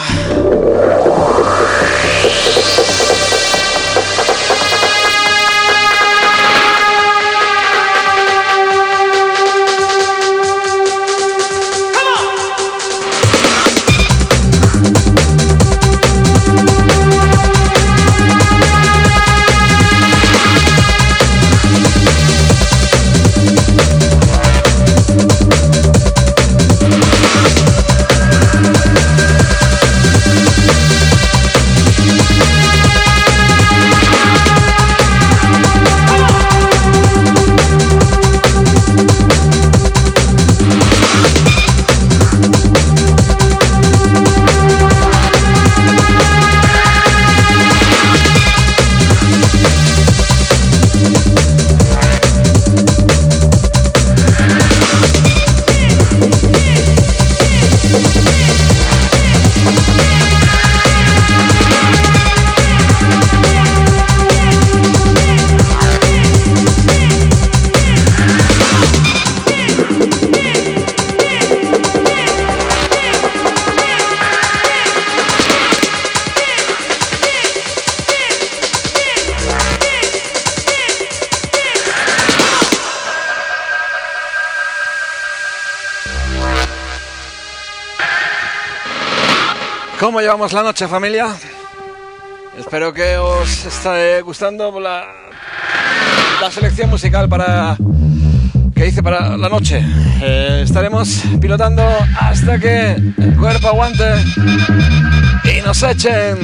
¿Cómo llevamos la noche, familia? Espero que os esté gustando la, la selección musical para que hice para la noche. Eh, estaremos pilotando hasta que el cuerpo aguante y nos echen.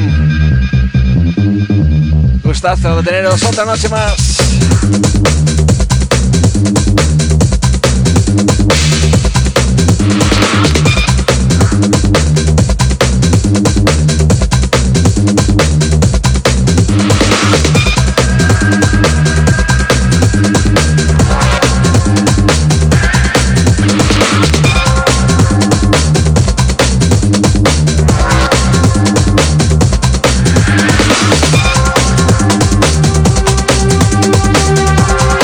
Gustazo de teneros otra noche más. We'll be right back.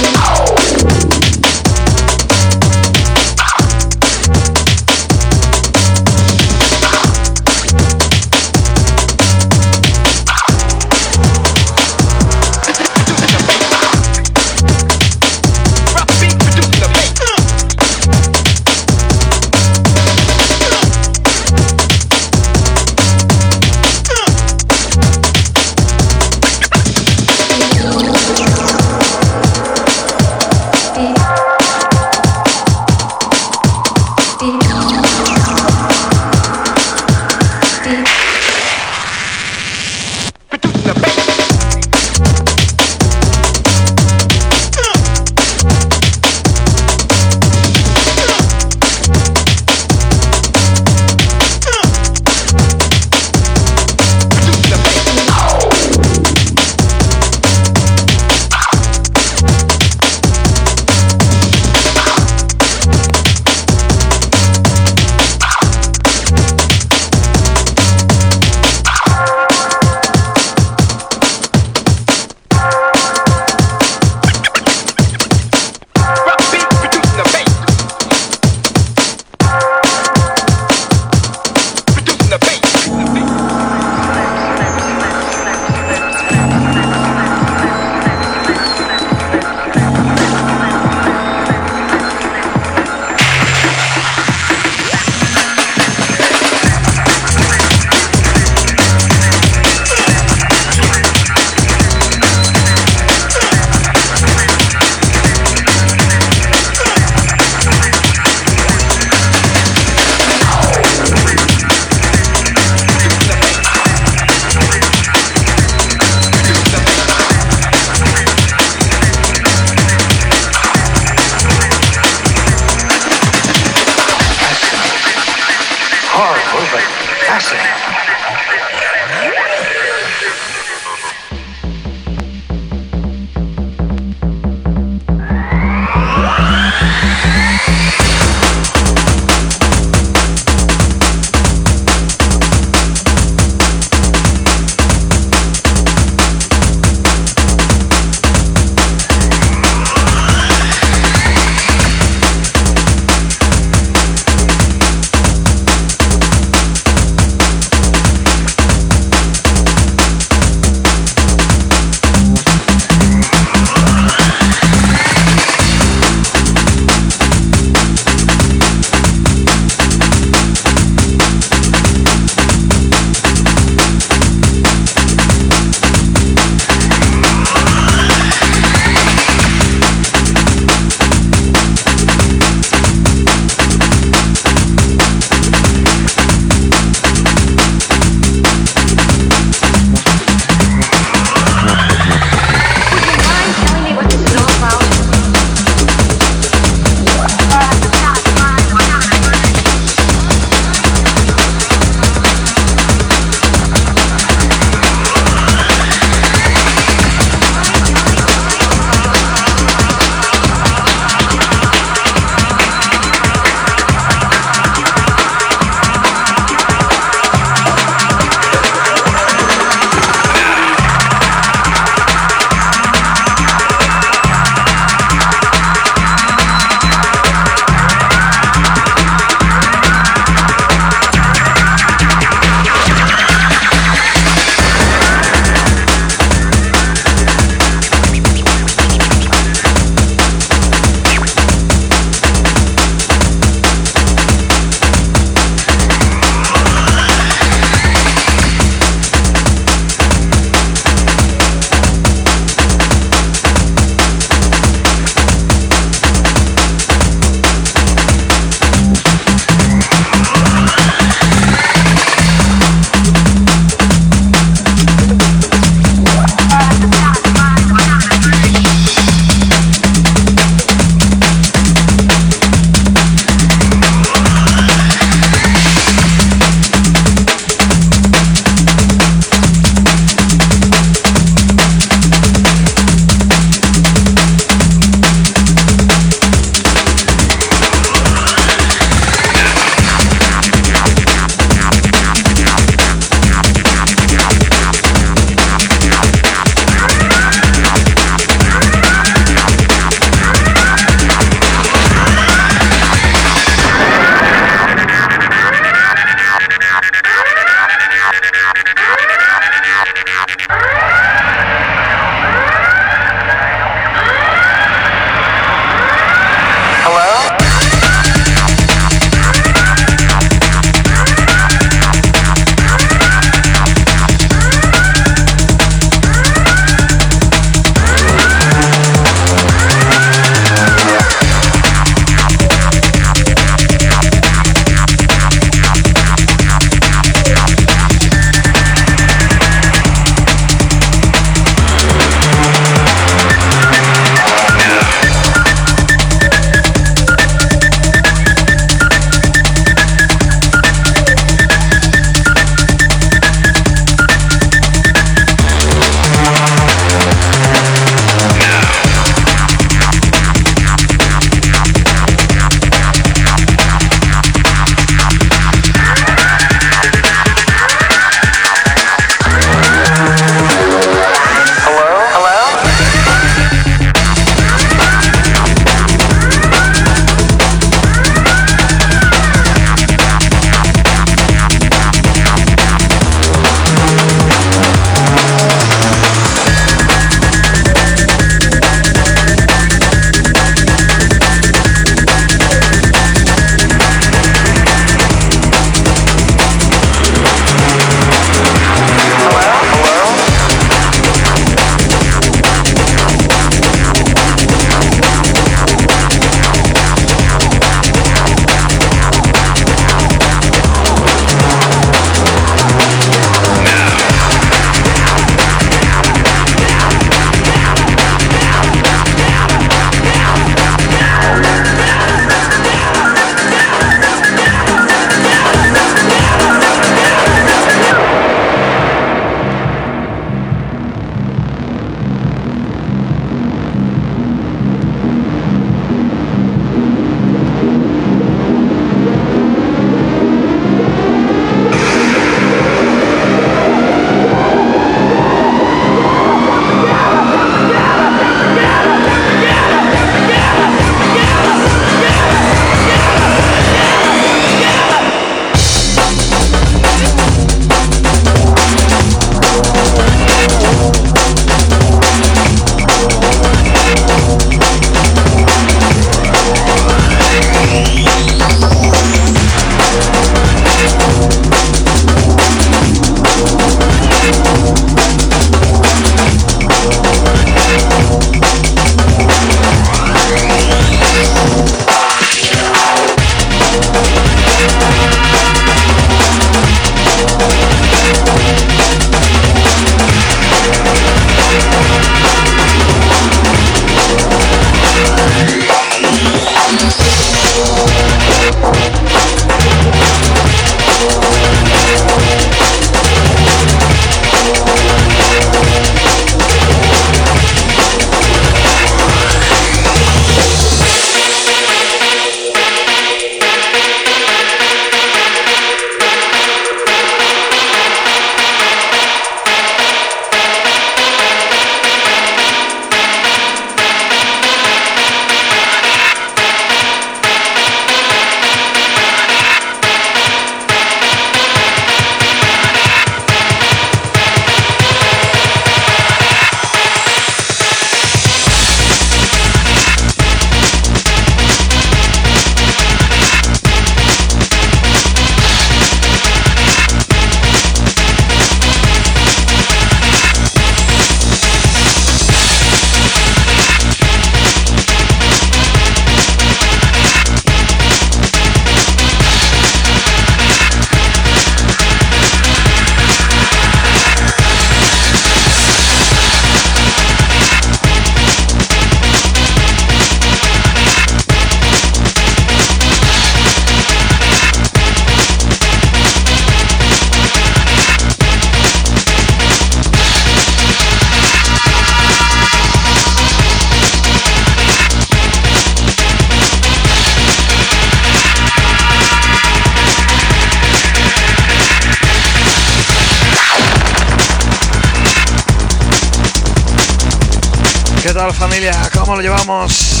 tal, familia? ¿Cómo lo llevamos?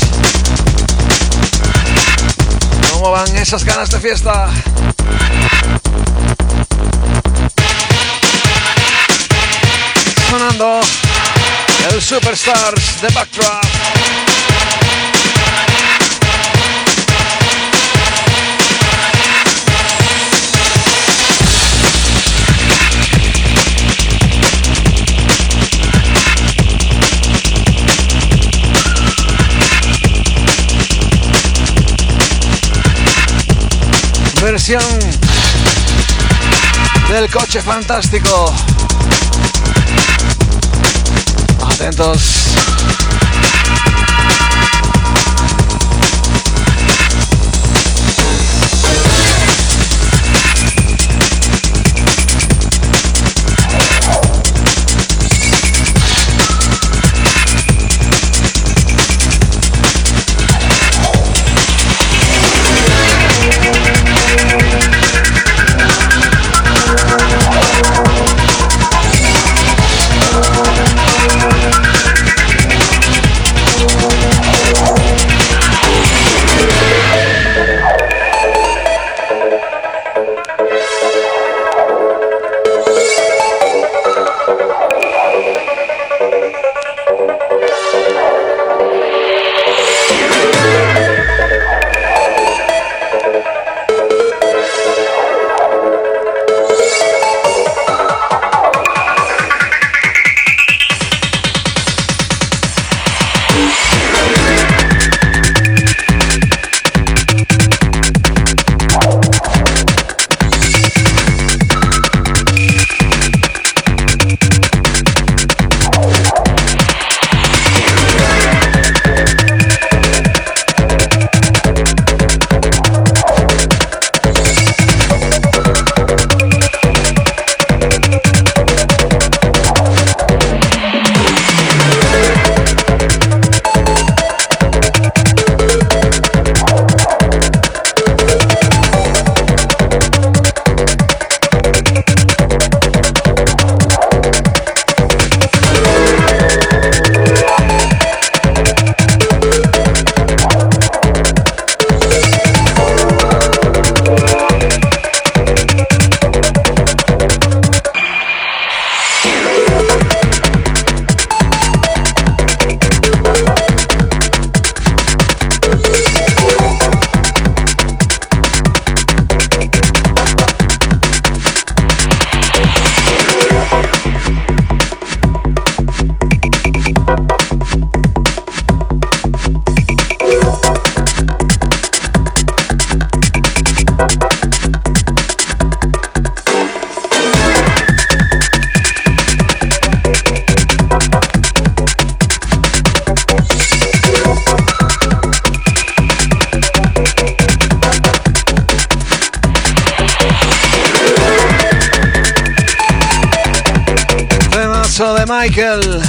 ¿Cómo van esas ganas de fiesta? Sonando el Superstars de Backdraft. Versión del Coche Fantástico. Atentos. De Michael.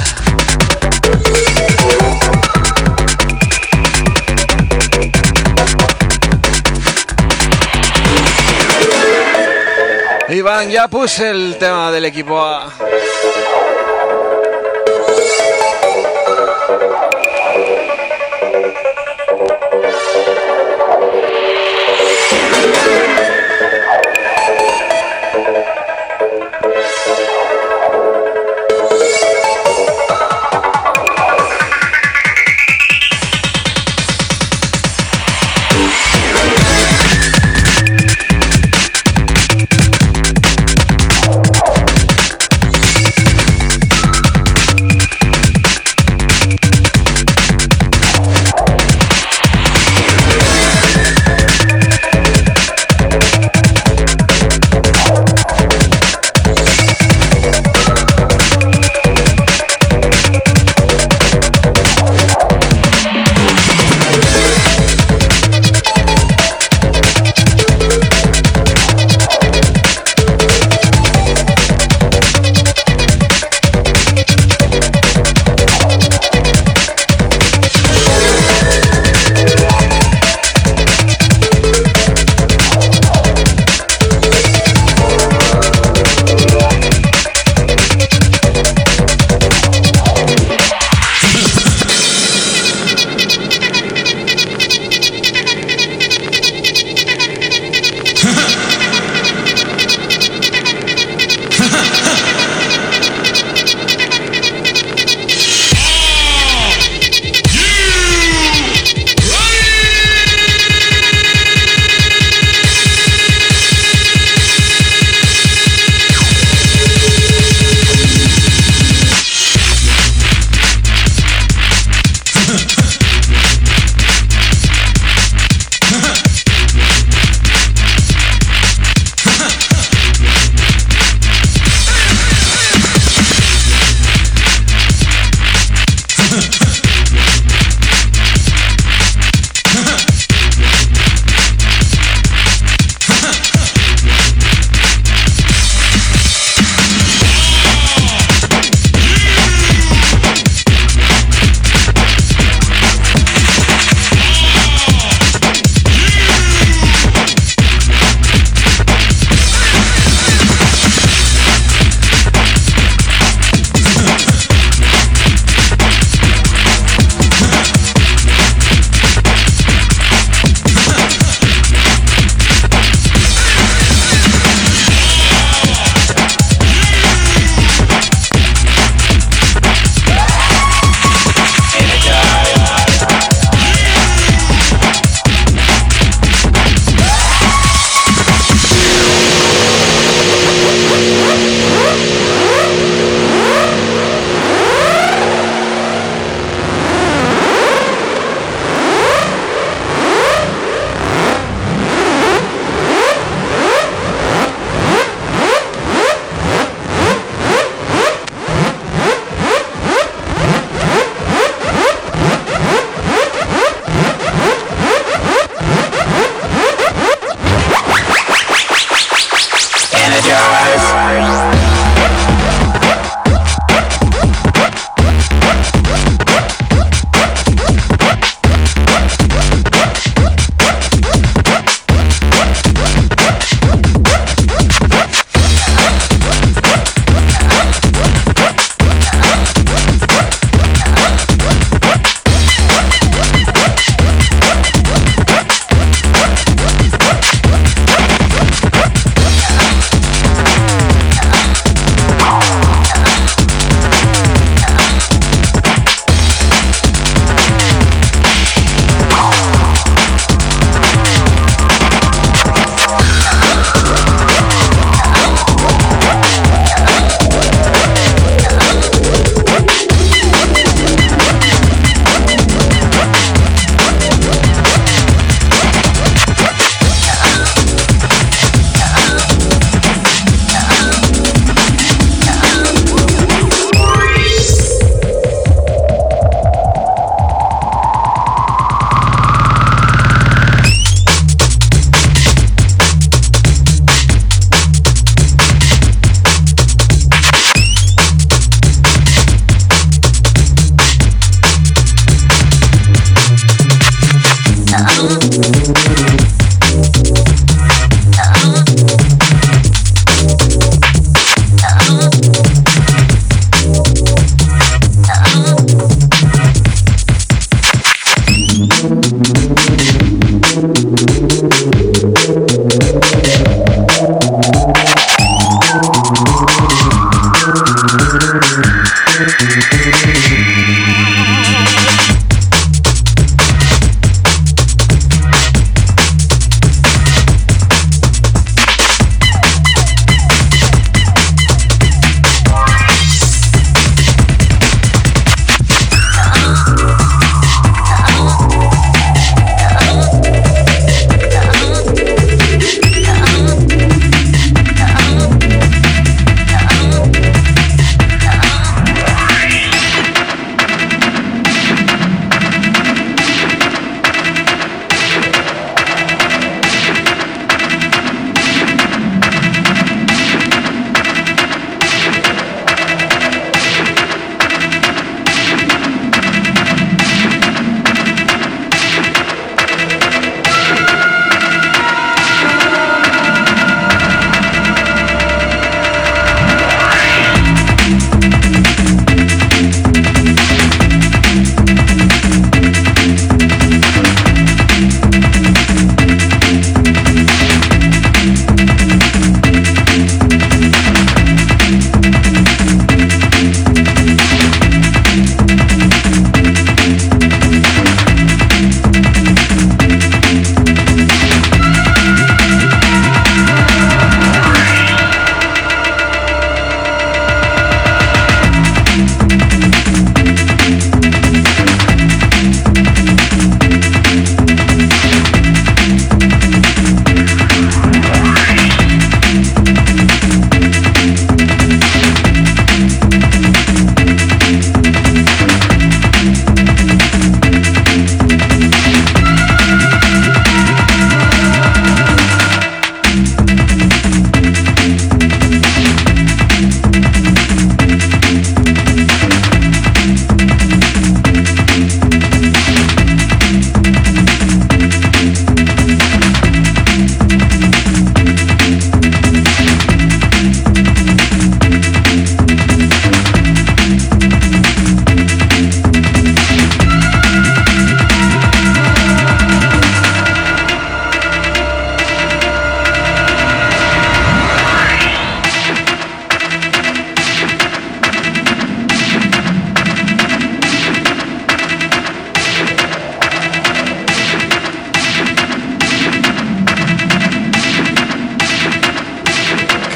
Iván, ya puse el tema del equipo A.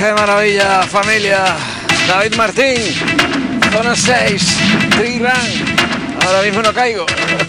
¡Qué maravilla, familia! David Martín, zona seis, Trigran. Ahora mismo no caigo.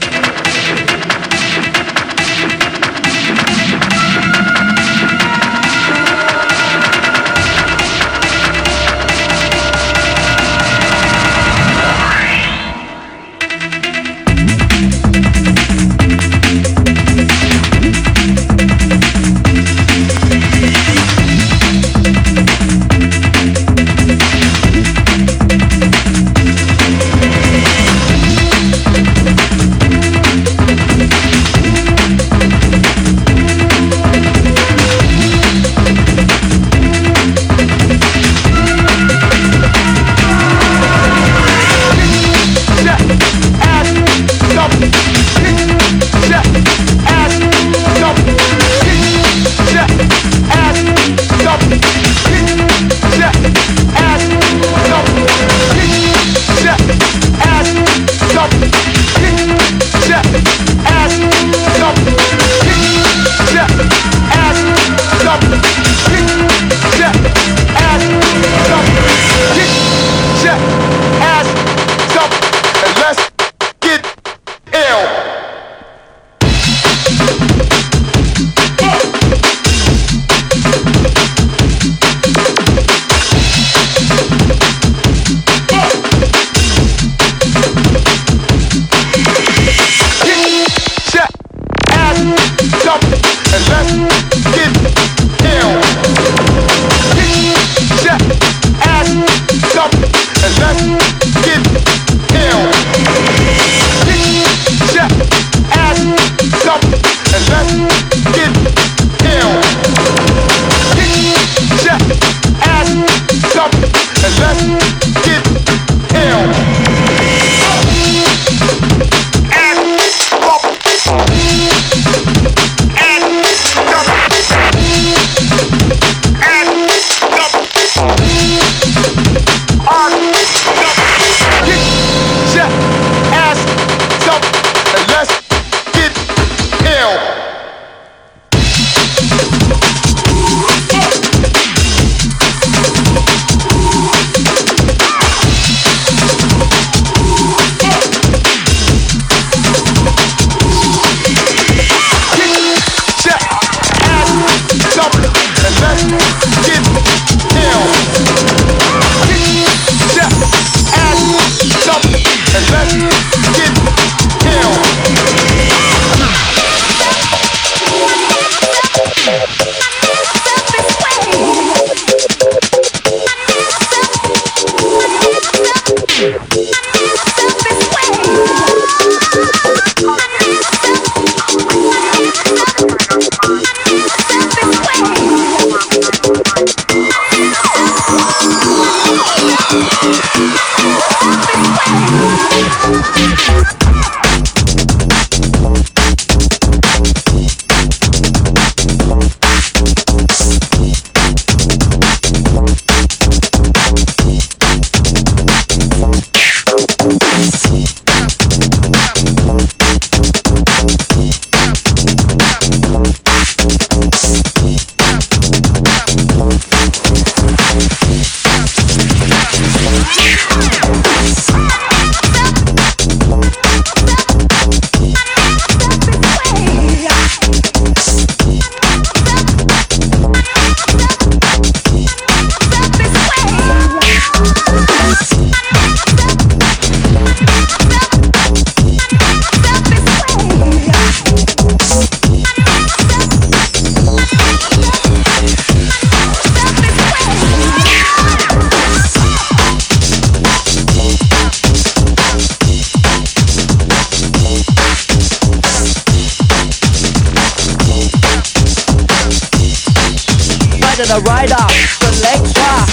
The rider, selector.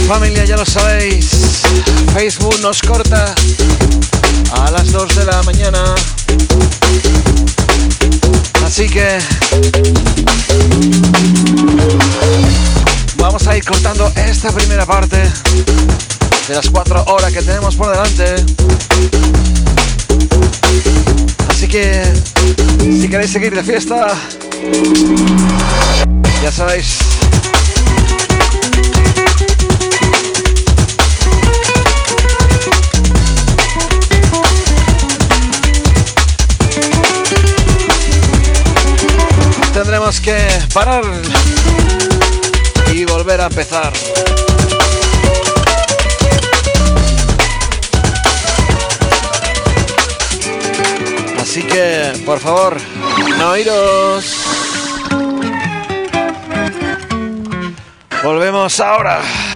Familia, ya lo sabéis, Facebook nos corta a las dos de la mañana, así que vamos a ir cortando esta primera parte de las cuatro horas que tenemos por delante. Así que si queréis seguir de fiesta, ya sabéis. Tendremos que parar y volver a empezar. Así que, por favor, no iros. Volvemos ahora.